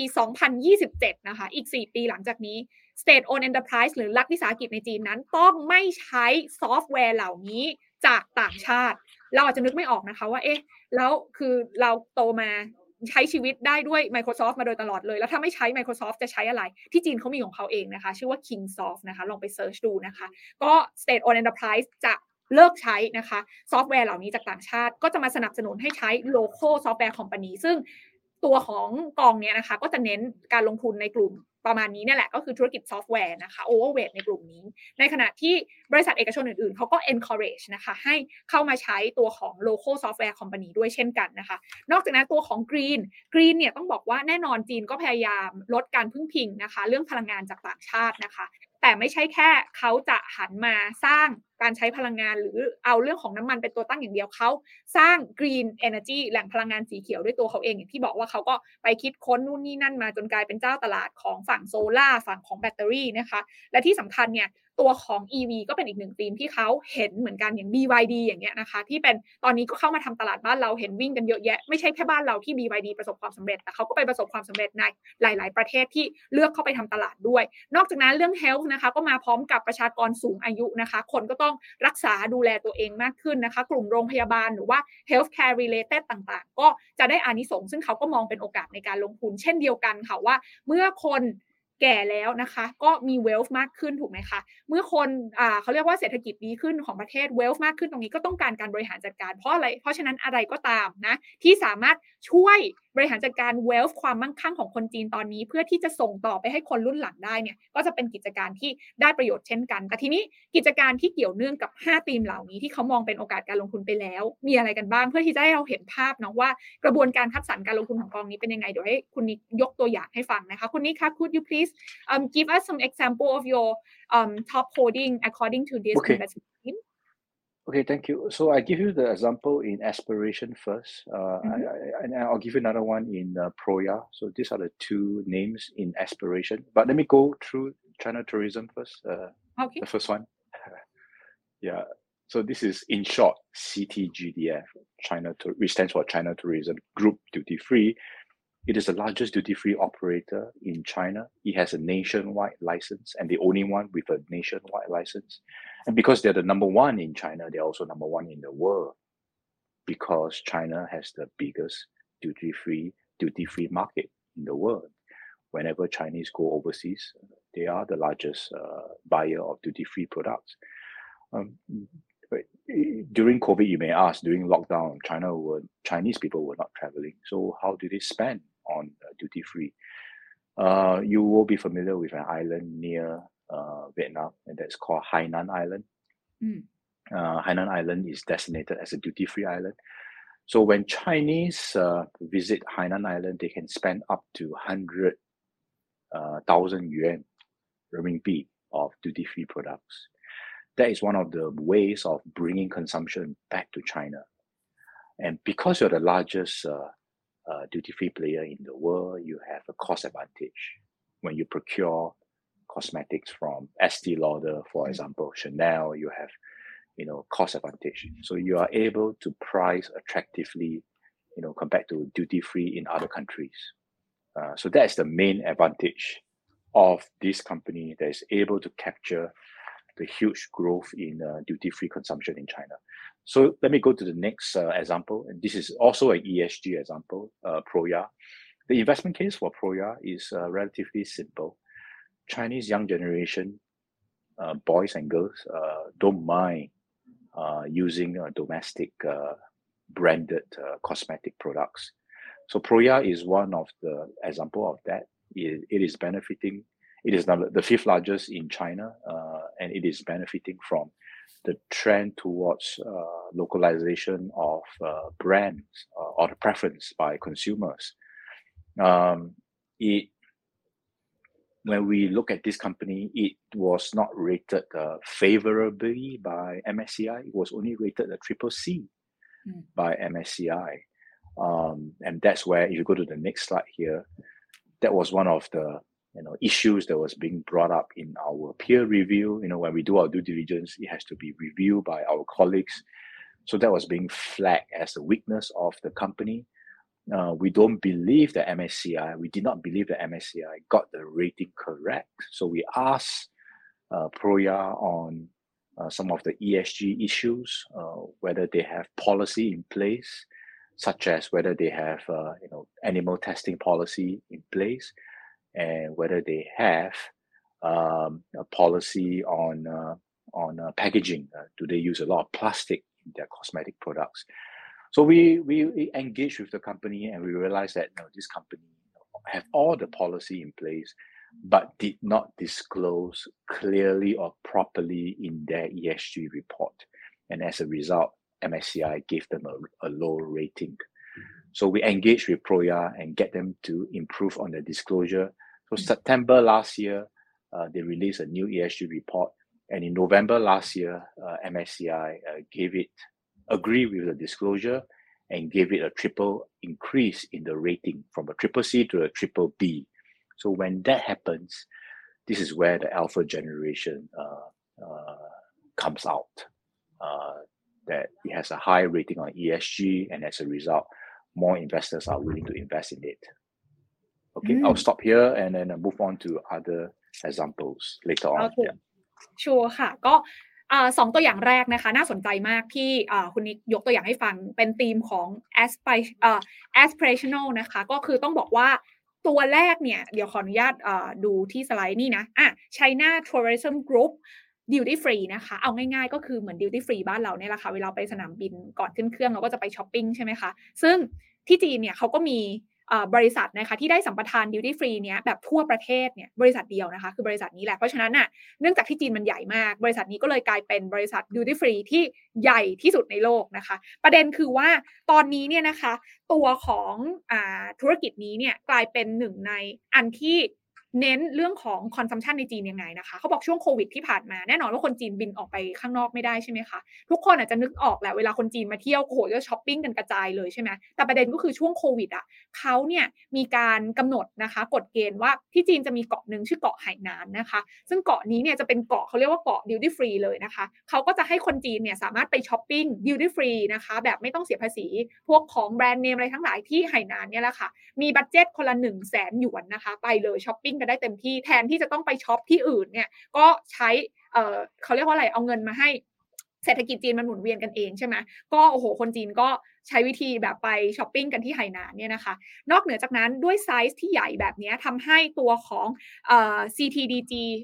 2027 นะคะอีก 4 ปีหลังจากนี้ State owned enterprise หรือรัฐวิสาหกิจในจีนนั้นต้องไม่ใช้ซอฟต์แวร์เหล่านี้จากต่างชาติเราอาจจะนึกไม่ออกนะคะว่าเอ๊ะแล้วคือเราโตมาใช้ชีวิตได้ด้วย Microsoft มาโดยตลอดเลยแล้วถ้าไม่ใช้ Microsoft จะใช้อะไรที่จีนเขามีของเขาเองนะคะชื่อว่า Kingsoft นะคะลองไปเสิร์ชดูนะคะก็ State owned enterprise จะเลิกใช้นะคะซอฟต์แวร์เหล่านี้จากต่างชาติก็จะมาสนับสนุนให้ใช้ local software company ซึ่งตัวของกองนี้นะคะก็จะเน้นการลงทุนในกลุ่มประมาณนี้เนี่ยแหละก็คือธุรกิจซอฟต์แวร์นะคะ overweight ในกลุ่มนี้ในขณะที่บริษัทเอกชนอื่นๆเขาก็ encourage นะคะให้เข้ามาใช้ตัวของ local software company ด้วยเช่นกันนะคะนอกจากนั้นตัวของ green เนี่ยต้องบอกว่าแน่นอนจีนก็พยายามลดการพึ่งพิงนะคะเรื่องพลังงานจากต่างชาตินะคะแต่ไม่ใช่แค่เขาจะหันมาสร้างการใช้พลังงานหรือเอาเรื่องของน้ำมันเป็นตัวตั้งอย่างเดียวเขาสร้าง green energy แหล่งพลังงานสีเขียวด้วยตัวเขาเองอย่างที่บอกว่าเขาก็ไปคิดค้นนู่นนี่นั่นมาจนกลายเป็นเจ้าตลาดของฝั่งโซล่าฝั่งของแบตเตอรี่นะคะและที่สำคัญเนี่ยตัวของ EV ก็เป็นอีกหนึ่งธีมที่เขาเห็นเหมือนกันอย่าง BYD อย่างเงี้ยนะคะที่เป็นตอนนี้ก็เข้ามาทำตลาดบ้านเราเห็นวิ่งกันเยอะแยะไม่ใช่แค่บ้านเราที่ BYD ประสบความสำเร็จแต่เขาก็ไปประสบความสำเร็จในหลายๆประเทศที่เลือกเข้าไปทำตลาดด้วยนอกจากนั้นเรื่อง health นะคะก็มาพร้อมกับประชากรสูงอายุนะคะคนก็ต้องรักษาดูแลตัวเองมากขึ้นนะคะกลุ่มโรงพยาบาลหรือว่า healthcare related ต่างๆก็จะได้อานิสงส์ซึ่งเขาก็มองเป็นโอกาสในการลงทุนเช่นเดียวกันค่ะว่าเมื่อคนแก่แล้วนะคะก็มี wealth มากขึ้นถูกไหมคะเมื่อคนเขาเรียกว่าเศรษฐกิจดีขึ้นของประเทศ wealth มากขึ้นตรงนี้ก็ต้องการการบริหารจัดการเพราะอะไรเพราะฉะนั้นอะไรก็ตามนะที่สามารถช่วยบริหารจัดการ wealth ความมั่งคั่งของคนจีนตอนนี้เพื่อที่จะส่งต่อไปให้คนรุ่นหลังได้เนี่ยก็จะเป็นกิจการที่ได้ประโยชน์เช่นกันแต่ทีนี้กิจการที่เกี่ยวเนื่องกับ5ธีมเหล่านี้ที่เขามองเป็นโอกาสการลงทุนไปแล้วมีอะไรกันบ้างเพื่อที่จะให้เราเห็นภาพเนาะว่ากระบวนการคัดสรรการลงทุนของกองนี้เป็นยังไงเดี๋ยวให้คุณนิกยกตัวอย่างให้ฟังนะคะคุณนิกคะ could you please give us some example of your top holding according to this investment team? Okay, thank you. So I give you the example in Aspiration first, and I'll give you another one in Proya. So these are the two names in Aspiration. But let me go through China Tourism first. Okay. The first one. Yeah. So this is in short CTGDF, which stands for China Tourism Group Duty Free. It is the largest duty-free operator in China. It has a nationwide license and the only one with a nationwide license. And because they're the number one in China, they're also number one in the world because China has the biggest duty-free market in the world. Whenever Chinese go overseas, they are the largest buyer of duty-free products. During COVID, you may ask, during lockdown, Chinese people were not traveling. So how do they spend on duty free. You will be familiar with an island near Vietnam, and that's called Hainan Island. Hainan Island is designated as a duty-free island. So when Chinese visit Hainan Island, they can spend up to 100,000 yuan renminbi of duty-free products. That is one of the ways of bringing consumption back to China. And because you're the largest duty-free player in the world, you have a cost advantage when you procure cosmetics from Estee Lauder, for example, Chanel. You have cost advantage. So you are able to price attractively, compared to duty-free in other countries. So that's the main advantage of this company that is able to capture the huge growth in duty-free consumption in China. So let me go to the next example. And this is also an ESG example, Proya. The investment case for Proya is relatively simple. Chinese young generation, boys and girls, don't mind using domestic branded cosmetic products. So Proya is one of the example of that. It is benefiting. It is now the fifth largest in China, and it is benefiting from the trend towards localization of brands or the preference by consumers. When we look at this company, it was not rated favorably by MSCI. It was only rated a CCC by MSCI. And that's where, if you go to the next slide here, that was one of the issues that was being brought up in our peer review. When we do our due diligence, it has to be reviewed by our colleagues. So that was being flagged as a weakness of the company. We did not believe that MSCI got the rating correct. So we asked Proya on some of the ESG issues, whether they have policy in place, such as whether they have animal testing policy in place, and whether they have a policy on packaging. Do they use a lot of plastic in their cosmetic products? So we engaged with the company, and we realized that this company have all the policy in place, but did not disclose clearly or properly in their ESG report. And as a result, MSCI gave them a low rating. So we engaged with Proya and get them to improve on the disclosure. So September last year, they released a new ESG report. And in November last year, MSCI agree with the disclosure and gave it a triple increase in the rating from a CCC to a BBB. So when that happens, this is where the alpha generation comes out, that it has a high rating on ESG, and as a result, more investors are willing to invest in it. Okay, I'll stop here and then move on to other examples later on. Okay. Yeah. ชัวร์ค่ะก็สองตัวอย่างแรกนะคะน่าสนใจมากที่คุณนิกยกตัวอย่างให้ฟังเป็นธีมของ aspirational นะคะก็คือต้องบอกว่าตัวแรกเนี่ยเดี๋ยวขออนุญาตดูที่สไลด์นี่นะChina Tourism Group Duty Free นะคะเอาง่ายๆก็คือเหมือน Duty Free บ้านเราเนี่ยแหละค่ะเวลาไปสนามบินก่อนขึ้นเครื่องเราก็จะไปช้อปปิ้งใช่ไหมคะซึ่งที่จีนเนี่ยเขาก็มีบริษัทนะคะที่ได้สัมปทาน Duty Free เนี้ยแบบทั่วประเทศเนี่ยบริษัทเดียวนะคะคือบริษัทนี้แหละเพราะฉะนั้นน่ะเนื่องจากที่จีนมันใหญ่มากบริษัทนี้ก็เลยกลายเป็นบริษัท Duty Free ที่ใหญ่ที่สุดในโลกนะคะประเด็นคือว่าตอนนี้เนี่ยนะคะตัวของธุรกิจนี้เนี่ยกลายเป็นหนึ่งในอันที่เน้นเรื่องของ consumption ในจีนยังไงนะคะเขาบอกช่วงโควิดที่ผ่านมาแน่นอนว่าคนจีนบินออกไปข้างนอกไม่ได้ใช่ไหมคะทุกคนอาจจะนึกออกแหละเวลาคนจีนมาเที่ยวโอ้โหจะช้อปปิ้งกันกระจายเลยใช่ไหมแต่ประเด็นก็คือช่วงโควิดเขาเนี่ยมีการกำหนดนะคะกฎเกณฑ์ว่าที่จีนจะมีเกาะนึงชื่อเกาะไหหนานนะคะซึ่งเกาะนี้เนี่ยจะเป็นเกาะเขาเรียกว่าเกาะ duty free เลยนะคะเขาก็จะให้คนจีนเนี่ยสามารถไปช้อปปิ้ง duty free นะคะแบบไม่ต้องเสียภาษีพวกของแบรนด์เนมอะไรทั้งหลายที่ไหหนานเนี่ยแหละค่ะมีบัดเจ็ตคนละ 100,000 หยวนนะคะไปเลยช้อปปิ้งกันได้เต็มที่แทนที่จะต้องไปช็อปที่อื่นเนี่ยก็ใช้เขาเรียกว่าอะไรเอาเงินมาให้เศรษฐกิจจีนมันหมุนเวียนกันเองใช่ไหมก็โอ้โหคนจีนก็ใช้วิธีแบบไปช้อปปิ้งกันที่ไหหนานเนี่ยนะคะนอกเหนือจากนั้นด้วยไซส์ที่ใหญ่แบบนี้ทำให้ตัวของCTDG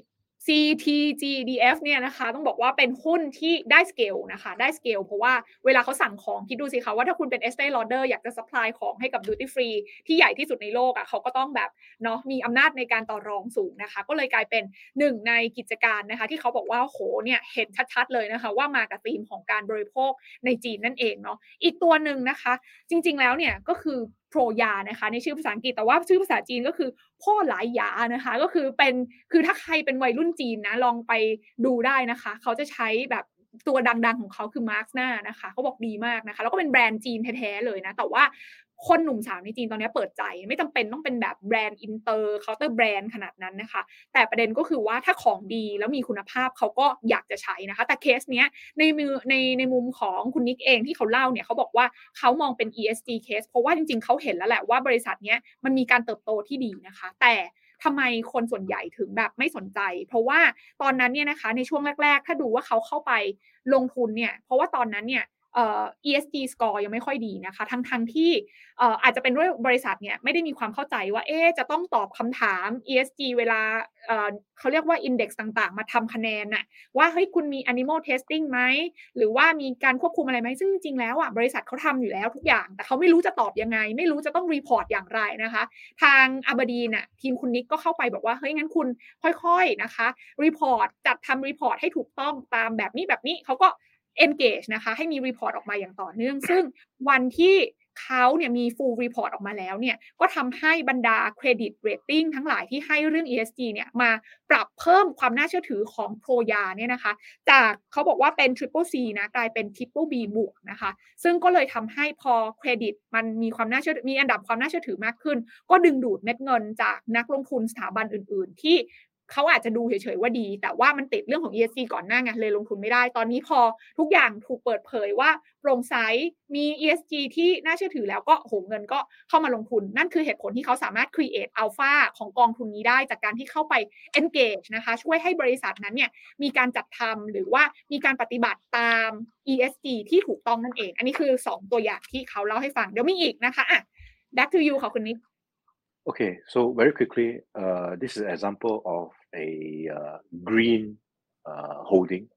CTGDF เนี่ยนะคะต้องบอกว่าเป็นหุ้นที่ได้สเกลนะคะได้สเกลเพราะว่าเวลาเขาสั่งของคิดดูสิคะว่าถ้าคุณเป็น Estée Lauder อยากจะซัพพลายของให้กับ Duty Free ที่ใหญ่ที่สุดในโลกอะเขาก็ต้องแบบเนาะมีอำนาจในการต่อรองสูงนะคะก็เลยกลายเป็นหนึ่งในกิจการนะคะที่เขาบอกว่าโหเนี่ยเห็นชัดๆเลยนะคะว่ามากับธีมของการบริโภคในจีนนั่นเองเนาะอีกตัวหนึ่งนะคะจริงๆแล้วเนี่ยก็คือโพรยานะคะในชื่อภาษาอังกฤษแต่ว่าชื่อภาษาจีนก็คือพ่อหลายหยานะคะก็คือเป็นคือถ้าใครเป็นวัยรุ่นจีนนะลองไปดูได้นะคะเขาจะใช้แบบตัวดังๆของเขาคือมาร์คหน้านะคะเขาบอกดีมากนะคะแล้วก็เป็นแบรนด์จีนแท้ๆเลยนะแต่ว่าคนหนุ่มสาวในจีนตอนนี้เปิดใจไม่จำเป็นต้องเป็นแบบแบรนด์อินเตอร์เคาน์เตอร์แบรนด์ขนาดนั้นนะคะแต่ประเด็นก็คือว่าถ้าของดีแล้วมีคุณภาพเขาก็อยากจะใช้นะคะแต่เคสเนี้ยในมุมของคุณนิกเองที่เขาเล่าเนี่ยเขาบอกว่าเขามองเป็น ESG case เพราะว่าจริงๆเขาเห็นแล้วแหละว่าบริษัทเนี้ยมันมีการเติบโตที่ดีนะคะแต่ทำไมคนส่วนใหญ่ถึงแบบไม่สนใจเพราะว่าตอนนั้นเนี่ยนะคะในช่วงแรกๆถ้าดูว่าเขาเข้าไปลงทุนเนี่ยเพราะว่าตอนนั้นเนี่ยESG score ยังไม่ค่อยดีนะคะทั้งที่อาจจะเป็นด้วยบริษัทเนี่ยไม่ได้มีความเข้าใจว่าจะต้องตอบคำถาม ESG เวลาเขาเรียกว่า index ต่างๆมาทำคะแนนน่ะว่าเฮ้ยคุณมี animal testing ไหมหรือว่ามีการควบคุมอะไรไหมซึ่งจริงๆแล้วอ่ะบริษัทเขาทำอยู่แล้วทุกอย่างแต่เขาไม่รู้จะตอบยังไงไม่รู้จะต้อง report อย่างไรนะคะทางอาบดีนน่ะทีมคุณนิกก็เข้าไปบอกว่าเฮ้ยงั้นคุณค่อยๆนะคะ report จัดทำ report ให้ถูกต้องตามแบบนี้เขาก็ engage นะคะให้มี report ออกมาอย่างต่อเนื่องซึ่งวันที่เขาเนี่ยมี full report ออกมาแล้วเนี่ยก็ทำให้บรรดา credit rating ทั้งหลายที่ให้เรื่อง ESG เนี่ยมาปรับเพิ่มความน่าเชื่อถือของโพรยาเนี่ยนะคะจากเขาบอกว่าเป็น Triple C นะกลายเป็น Triple B บวกนะคะซึ่งก็เลยทำให้พอเครดิตมันมีความน่าเชื่อมีอันดับความน่าเชื่อถือมากขึ้นก็ดึงดูดเม็ดเงินจากนักลงทุนสถาบันอื่นๆที่เขาอาจจะดูเฉยๆว่าดีแต่ว่ามันติดเรื่องของ ESG ก่อนหน้าไงเลยลงทุนไม่ได้ตอนนี้พอทุกอย่างถูกเปิดเผยว่าโปร่งใสมี ESG ที่น่าเชื่อถือแล้วก็โหเงินก็เข้ามาลงทุนนั่นคือเหตุผลที่เขาสามารถ create alpha ของกองทุนนี้ได้จากการที่เข้าไป engage นะคะช่วยให้บริษัทนั้นเนี่ยมีการจัดทำหรือว่ามีการปฏิบัติตาม ESG ที่ถูกต้องนั่นเองอันนี้คือ2ตัวอย่างที่เขาเล่าให้ฟังเดี๋ยวมีอีกนะคะback to you ค่ะคุณนิก Okay, so very quickly, this is an example of a green holding.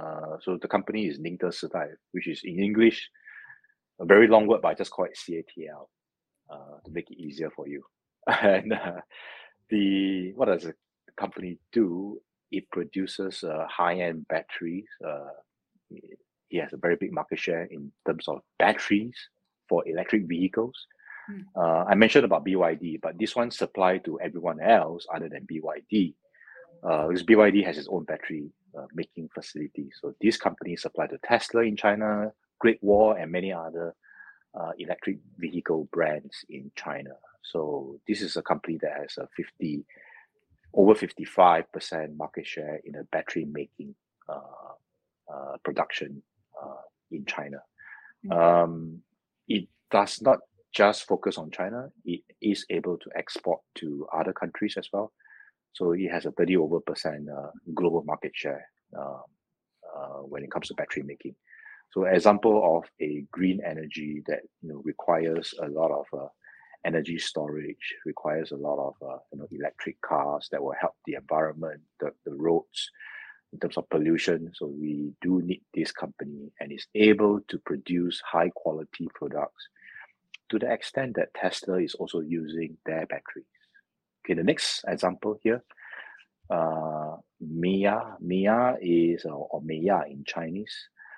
So the company is Ningde Sidai, which is in English a very long word, but I just call it CATL to make it easier for you. And what does the company do? It produces high-end batteries. It has a very big market share in terms of batteries for electric vehicles. I mentioned about BYD, but this one supply to everyone else other than BYD. Because BYD has its own battery making facility. So this company supply to Tesla in China, Great Wall, and many other electric vehicle brands in China. So this is a company that has over 55% market share in the battery making production in China. It does not just focus on China. It is able to export to other countries as well. So it has a 30% global market share when it comes to battery making. So example of a green energy that requires a lot of energy storage, requires a lot of electric cars that will help the environment, the roads in terms of pollution. So we do need this company, and it's able to produce high quality products to the extent that Tesla is also using their batteries. Okay, the next example here, Mia is, or Mia in Chinese,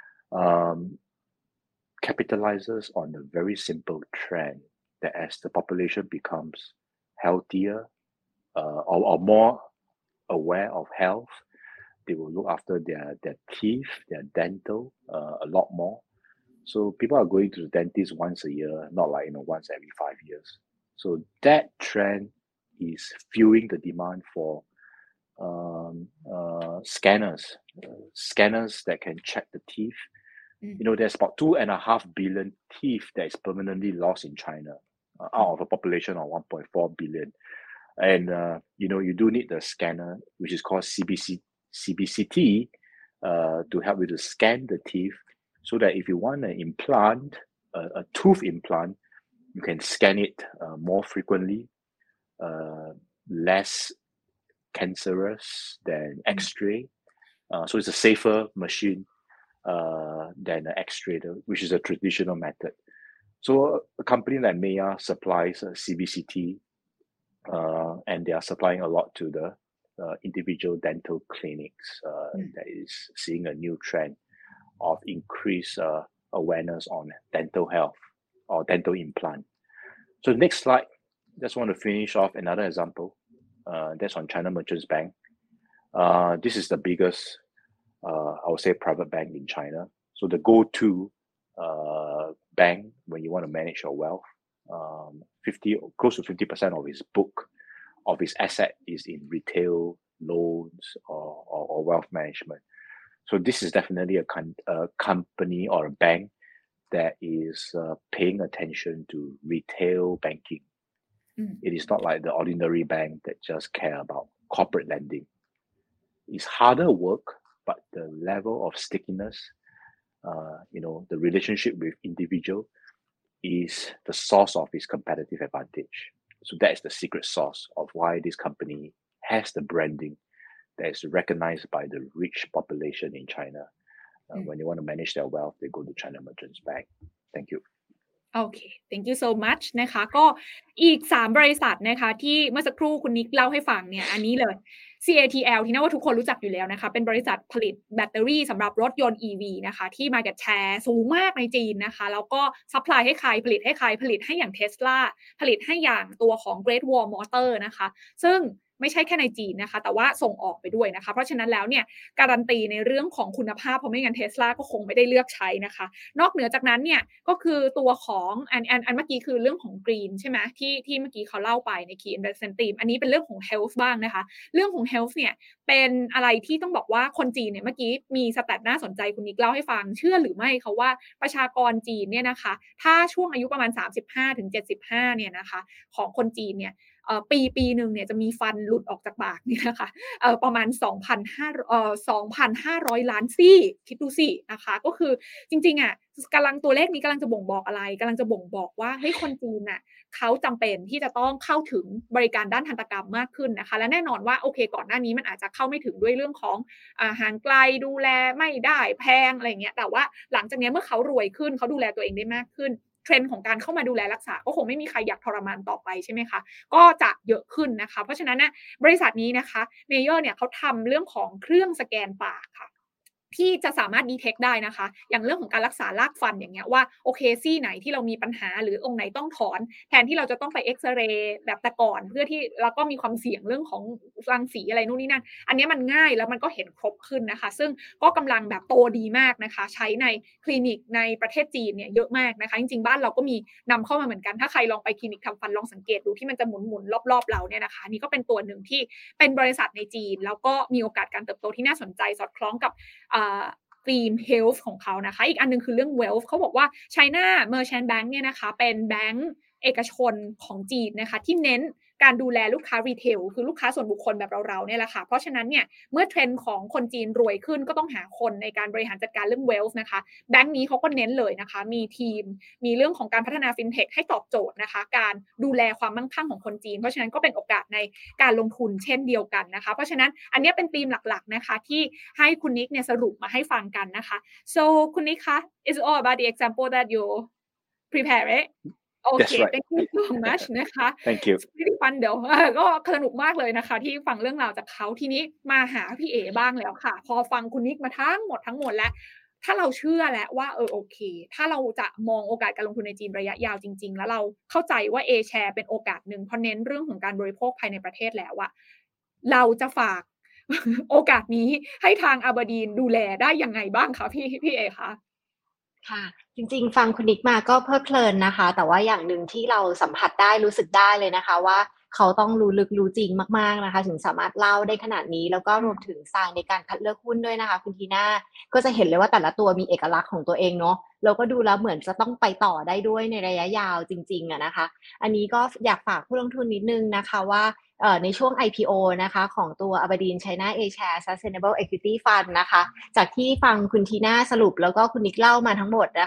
capitalizes on a very simple trend that as the population becomes healthier or more aware of health, they will look after their teeth, their dental a lot more. So people are going to the dentist once a year, not like once every 5 years. So that trend is fueling the demand for scanners that can check the teeth. There's about 2.5 billion teeth that is permanently lost in China out of a population of 1.4 billion. And you do need the scanner, which is called CBCT, to help you to scan the teeth, so that if you want an implant, a tooth implant, you can scan it more frequently, less cancerous than X-ray. So it's a safer machine than an X-ray, which is a traditional method. So a company like Meya supplies CBCT, and they are supplying a lot to the individual dental clinics that is seeing a new trend of increased awareness on dental health or dental implant. So next slide, just want to finish off another example. That's on China Merchants Bank. This is the biggest, I would say, private bank in China. So the go-to bank when you want to manage your wealth, close to 50% of its book, of its asset is in retail loans or wealth management. So this is definitely a company or a bank that is paying attention to retail banking. It is not like the ordinary bank that just care about corporate lending. It's harder work, but the level of stickiness, the relationship with individual is the source of its competitive advantage. So that is the secret sauce of why this company has the branding that is recognized by the rich population in China. When they want to manage their wealth, they go to China Merchants Bank. Thank you. โอเค thank you so much นะคะก็อีก3บริษัทนะคะที่เมื่อสักครู่คุณนิกเล่าให้ฟังเนี่ยอันนี้เลย CATL ที่น่าว่าทุกคนรู้จักอยู่แล้วนะคะเป็นบริษัทผลิตแบตเตอรี่สำหรับรถยนต์ EV นะคะที่ market share สูงมากในจีนนะคะแล้วก็ซัพพลายให้ใครผลิตให้ใครผลิตให้อย่าง Tesla ผลิตให้อย่างตัวของ Great Wall Motor นะคะซึ่งไม่ใช่แค่ในจีนนะคะแต่ว่าส่งออกไปด้วยนะคะเพราะฉะนั้นแล้วเนี่ยการันตีในเรื่องของคุณภาพเพราะไม่งั้น Tesla ก็คงไม่ได้เลือกใช้นะคะนอกเหนือจากนั้นเนี่ยก็คือตัวของอันเมื่อกี้คือเรื่องของ Green ใช่ไหมที่เมื่อกี้เขาเล่าไปใน Key Investment Team อันนี้เป็นเรื่องของ Health บ้างนะคะเรื่องของ Health เนี่ยเป็นอะไรที่ต้องบอกว่าคนจีนเนี่ยเมื่อกี้มีสแตทน่าสนใจคุณนิกเล่าให้ฟังเชื่อหรือไม่คะว่าประชากรจีนเนี่ยนะคะถ้าช่วงอายุประมาณ 35-75 เนี่ยนะคะของคนจีนเนี่ยปีนึงเนี่ยจะมีฟันหลุดออกจากปากนี่นะคะประมาณ 2,500 ล้านซี่คิดดูสินะคะก็คือจริงๆอ่ะตัวเลขนี้กำลังจะบ่งบอกอะไรกำลังจะบ่งบอกว่าเฮ้ยคนจีนน่ะเขาจำเป็นที่จะต้องเข้าถึงบริการด้านทันตกรรมมากขึ้นนะคะและแน่นอนว่าโอเคก่อนหน้านี้มันอาจจะเข้าไม่ถึงด้วยเรื่องของห่างไกลดูแลไม่ได้แพงอะไรเงี้ยแต่ว่าหลังจากนี้เมื่อเขารวยขึ้นเขาดูแลตัวเองได้มากขึ้นเทรนด์ของการเข้ามาดูแลรักษาก็คงไม่มีใครอยากทรมานต่อไปใช่ไหมคะก็จะเยอะขึ้นนะคะเพราะฉะนั้นนะบริษัทนี้นะคะเมเยอร์เนี่ยเขาทำเรื่องของเครื่องสแกนปากค่ะที่จะสามารถดีเทคได้นะคะอย่างเรื่องของการรักษารากฟันอย่างเงี้ยว่าโอเคซี่ไหนที่เรามีปัญหาหรือองค์ไหนต้องถอนแทนที่เราจะต้องไปเอ็กซเรย์แบบแต่ก่อนเพื่อที่แล้วก็มีความเสี่ยงเรื่องของรังสีอะไรนู่นนี่นั่นอันนี้มันง่ายแล้วมันก็เห็นครบขึ้นนะคะซึ่งก็กำลังแบบโตดีมากนะคะใช้ในคลินิกในประเทศจีนเนี่ยเยอะมากนะคะจริงๆบ้านเราก็มีนำเข้ามาเหมือนกันถ้าใครลองไปคลินิกทำฟันลองสังเกตดูที่มันจะหมุนรอบๆเราเนี่ยนะคะนี่ก็เป็นตัวหนึ่งที่เป็นบริษัทในจีนแล้วก็มีโอกาสการเติบโตที่น่าสนใจสอดคล้องกับธีม health ของเขานะคะอีกอันนึงคือเรื่อง wealth เขาบอกว่า China Merchants Bank เนี่ยนะคะเป็นแบงก์เอกชนของจีนนะคะที่เน้นการดูแลลูกค้ารีเทลคือลูกค้าส่วนบุคคลแบบเราเนี่ยแหละค่ะเพราะฉะนั้นเนี่ยเมื่อเทรนด์ของคนจีนรวยขึ้นก็ต้องหาคนในการบริหารจัดการเรื่อง wealth นะคะแบงก์นี้เขาก็เน้นเลยนะคะมีทีมมีเรื่องของการพัฒนา fintech ให้ตอบโจทย์นะคะการดูแลความมั่งคั่งของคนจีนเพราะฉะนั้นก็เป็นโอกาสในการลงทุนเช่นเดียวกันนะคะเพราะฉะนั้นอันนี้เป็นธีมหลักๆนะคะที่ให้คุณนิกเนี่ยสรุปมาให้ฟังกันนะคะ so คุณนิกคะ it's all about the example that you prepare it That's right. Thank you so much นะคะ Thank you. Really fun เดี๋ยวก็สนุกมากเลยนะคะที่ฟังเรื่องราวจากเขาทีนี้มาหาพี่เอ๋บ้างแล้วค่ะพอฟังคุณนิกมาทั้งหมดแล้วถ้าเราเชื่อแล้วว่าโอเคถ้าเราจะมองโอกาสการลงทุนในจีนระยะยาวจริงๆแล้วเราเข้าใจว่า A-share เป็นโอกาสหนึ่งเพราะเน้นเรื่องของการบริโภคภายในประเทศแล้วอะเราจะฝาก โอกาสนี้ให้ทางอาบาดีนดูแลได้ยังไงบ้างคะพี่เอ๋คะค่ะจริงๆฟังคุณนิกมาก็เพลิดเพลินนะคะแต่ว่าอย่างหนึ่งที่เราสัมผัสได้รู้สึกได้เลยนะคะว่าเขาต้องรู้ลึกรู้จริงมากๆนะคะถึงสามารถเล่าได้ขนาดนี้แล้วก็รวมถึงสายในการคัดเลือกหุ้นด้วยนะคะคุณทีน่าก็จะเห็นเลยว่าแต่ละตัวมีเอกลักษณ์ของตัวเองเนาะแล้วก็ดูแล้วเหมือนจะต้องไปต่อได้ด้วยในระยะยาวจริงๆนะคะอันนี้ก็อยากฝากผู้ลงทุนนิดนึงนะคะว่าในช่วง IPO นะคะของตัว Aberdeen China A-Share Sustainable Equity Fund นะคะจากที่ฟังคุณทีน่าสรุปแล้วก็คุณนิกเล่ามาทั้งหมดนะคะ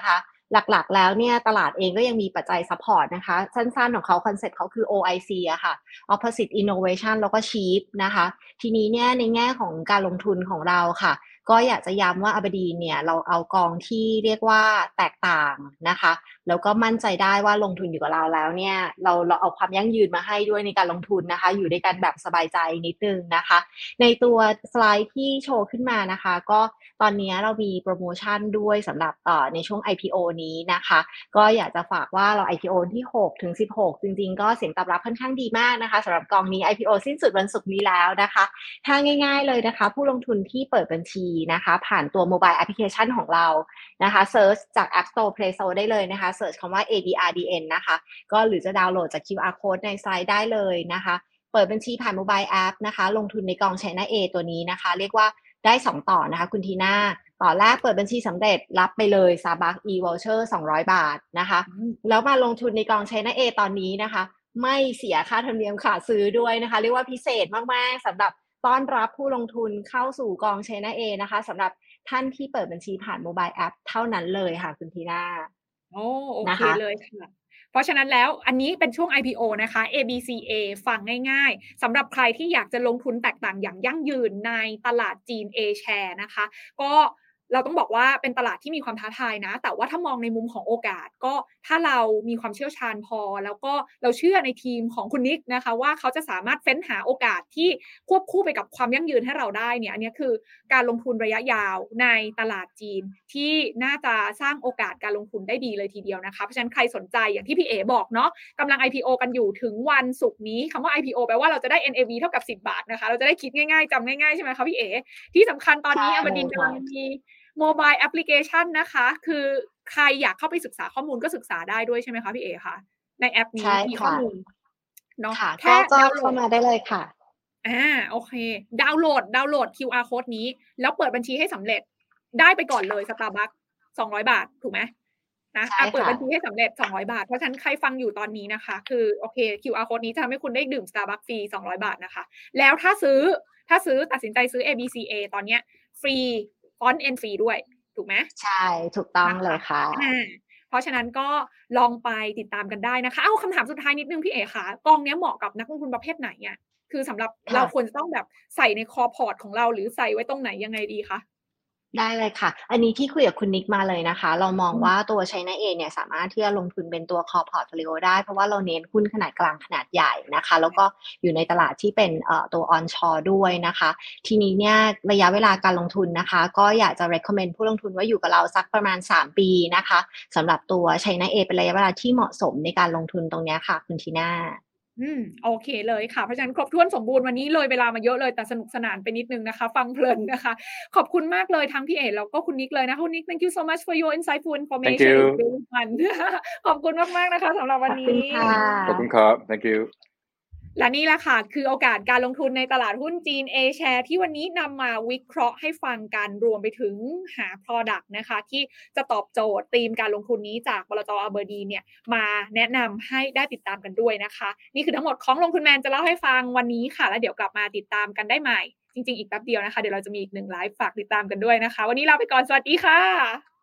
หลักๆแล้วเนี่ยตลาดเองก็ยังมีปัจจัยซัพพอร์ตนะคะสั้นๆของเขาคอนเซ็ปต์เขาคือ OIC อะค่ะ Opposite Innovation แล้วก็ Cheap นะคะทีนี้เนี่ยในแง่ของการลงทุนของเราค่ะก็อยากจะย้ำว่า Aberdeen เนี่ยเราเอากองที่เรียกว่าแตกต่างนะคะแล้วก็มั่นใจได้ว่าลงทุนอยู่กับเราแล้วเนี่ยเราเอาความยั่งยืนมาให้ด้วยในการลงทุนนะคะอยู่ด้วยกันแบบสบายใจนิดนึงนะคะในตัวสไลด์ที่โชว์ขึ้นมานะคะก็ตอนนี้เรามีโปรโมชั่นด้วยสำหรับในช่วง IPO นี้นะคะก็อยากจะฝากว่าเรา IPO ที่6ถึง16จริงๆก็เสียงตอบรับค่อนข้างดีมากนะคะสำหรับกองนี้ IPO สิ้นสุดวันศุกร์นี้แล้วนะคะถ้าง่ายๆเลยนะคะผู้ลงทุนที่เปิดบัญชีนะคะผ่านตัวโมบายแอปพลิเคชันของเรานะคะเซิร์ชจาก App Store Play Store ได้เลยนะคะเซิร์ชคำว่า ABRDN นะคะก็หรือจะดาวน์โหลดจาก QR Code ในไซต์ได้เลยนะคะเปิดบัญชีผ่านโมบายแอปนะคะลงทุนในกอง China A ตัวนี้นะคะเรียกว่าได้2ต่อนะคะคุณทีน่าต่อแรกเปิดบัญชีสำเร็จรับไปเลย Starbucks e-voucher 200 บาทนะคะแล้วมาลงทุนในกอง China A ตอนนี้นะคะไม่เสียค่าธรรมเนียมขาดซื้อด้วยนะคะเรียกว่าพิเศษมากๆสำหรับต้อนรับผู้ลงทุนเข้าสู่กอง China A นะคะสำหรับท่านที่เปิดบัญชีผ่านโมบายแอปเท่านั้นเลยค่ะคุณทีน่าโอเคนะคะเลยค่ะเพราะฉะนั้นแล้วอันนี้เป็นช่วง IPO นะคะ ABCA ฟังง่ายๆสำหรับใครที่อยากจะลงทุนแตกต่างอย่างยั่งยืนในตลาดจีน A share นะคะก็เราต้องบอกว่าเป็นตลาดที่มีความท้าทายนะแต่ว่าถ้ามองในมุมของโอกาสก็ถ้าเรามีความเชี่ยวชาญพอแล้วก็เราเชื่อในทีมของคุณนิกนะคะว่าเขาจะสามารถเฟ้นหาโอกาสที่ควบคู่ไปกับความยั่งยืนให้เราได้เนี่ยอันนี้คือการลงทุนระยะยาวในตลาดจีนที่น่าจะสร้างโอกาสการลงทุนได้ดีเลยทีเดียวนะคะเพราะฉะนั้นใครสนใจอย่างที่พี่เอ๋บอกเนาะกำลัง IPO กันอยู่ถึงวันศุกร์นี้คำว่า IPO แปลว่าเราจะได้ NAV เท่ากับ10 บาทนะคะเราจะได้คิดง่ายๆจำง่ายๆใช่ไหมคะพี่เอ๋ที่สำคัญตอนนี้ Aberdeen กำลังมีโมบายแอปพลิเคชันนะคะคือใครอยากเข้าไปศึกษาข้อมูลก็ศึกษาได้ด้วยใช่ไหมคะพี่เอ๋คะในแอปนี้ใช่มีข้อค่ะมูลเนาะค่ะแค่ก็ดาวน์โหลดเข้ามาได้เลยค่ะโอเคดาวน์โหลด QR Code นี้แล้วเปิดบัญชีให้สำเร็จได้ไปก่อนเลย Starbucks 200 บาทถูกไหมนะใช่เปิดค่ะบัญชีให้สำเร็จ200 บาทเพราะฉะนั้นใครฟังอยู่ตอนนี้นะคะคือโอเค QR Code นี้จะทำให้คุณได้ดื่ม Starbucks ฟรี200 บาทนะคะแล้วถ้าซื้อตัดสินใจซื้อ ABCA ตอนเนี้ยฟรีฟอนต์ N ฟรีด้วยถูกไหมใช่ถูกต้องนะคะเลยค่ะเพราะฉะนั้นก็ลองไปติดตามกันได้นะคะคำถามสุดท้ายนิดนึงพี่เอ๋ค่ะกองเนี้ยเหมาะกับนักลงทุนประเภทไหนอ่ะคือสำหรับเราค่ะควรจะต้องแบบใส่ในคอพอร์ตของเราหรือใส่ไว้ตรงไหนยังไงดีคะได้เลยค่ะ อันนี้ที่คุยกับคุณนิกมาเลยนะคะ เรามองว่าตัว China A เนี่ยสามารถที่จะลงทุนเป็นตัว Core Portfolio ได้เพราะว่าเราเน้นหุ้นขนาดกลางขนาดใหญ่นะคะแล้วก็อยู่ในตลาดที่เป็นตัว onshore ด้วยนะคะทีนี้เนี่ยระยะเวลาการลงทุนนะคะก็อยากจะ recommend ผู้ลงทุนว่าอยู่กับเราสักประมาณ3ปีนะคะสำหรับตัว China A เป็นระยะเวลาที่เหมาะสมในการลงทุนตรงนี้ค่ะคุณทีน่าโอเคเลยค่ะเพราะฉะนั้นครบถ้วนสมบูรณ์วันนี้เลยเวลามาเยอะเลยแต่สนุกสนานไปนิดนึงนะคะฟังเพลินนะคะขอบคุณมากเลยทั้งพี่เอ๋แล้วก็คุณนิกเลยนะคะคุณนิก thank you so much for your insightful Thank information it's you really fun ขอบคุณมากๆนะคะสำหรับขอบคุณวันนี้ค่ะขอบคุณครับ Thank you และนี่แหละค่ะคือโอกาสการลงทุนในตลาดหุ้นจีน A share ที่วันนี้นำมาวิเคราะห์ให้ฟังกันรวมไปถึงหา product นะคะที่จะตอบโจทย์ธีมการลงทุนนี้จากบลจ. Aberdeen เนี่ยมาแนะนำให้ได้ติดตามกันด้วยนะคะนี่คือทั้งหมดของลงทุนแมนจะเล่าให้ฟังวันนี้ค่ะแล้วเดี๋ยวกลับมาติดตามกันได้ใหม่จริงๆอีกแป๊บเดียวนะคะเดี๋ยวเราจะมีอีก1ไลฟ์ฝากติดตามกันด้วยนะคะวันนี้ลาไปก่อนสวัสดีค่ะ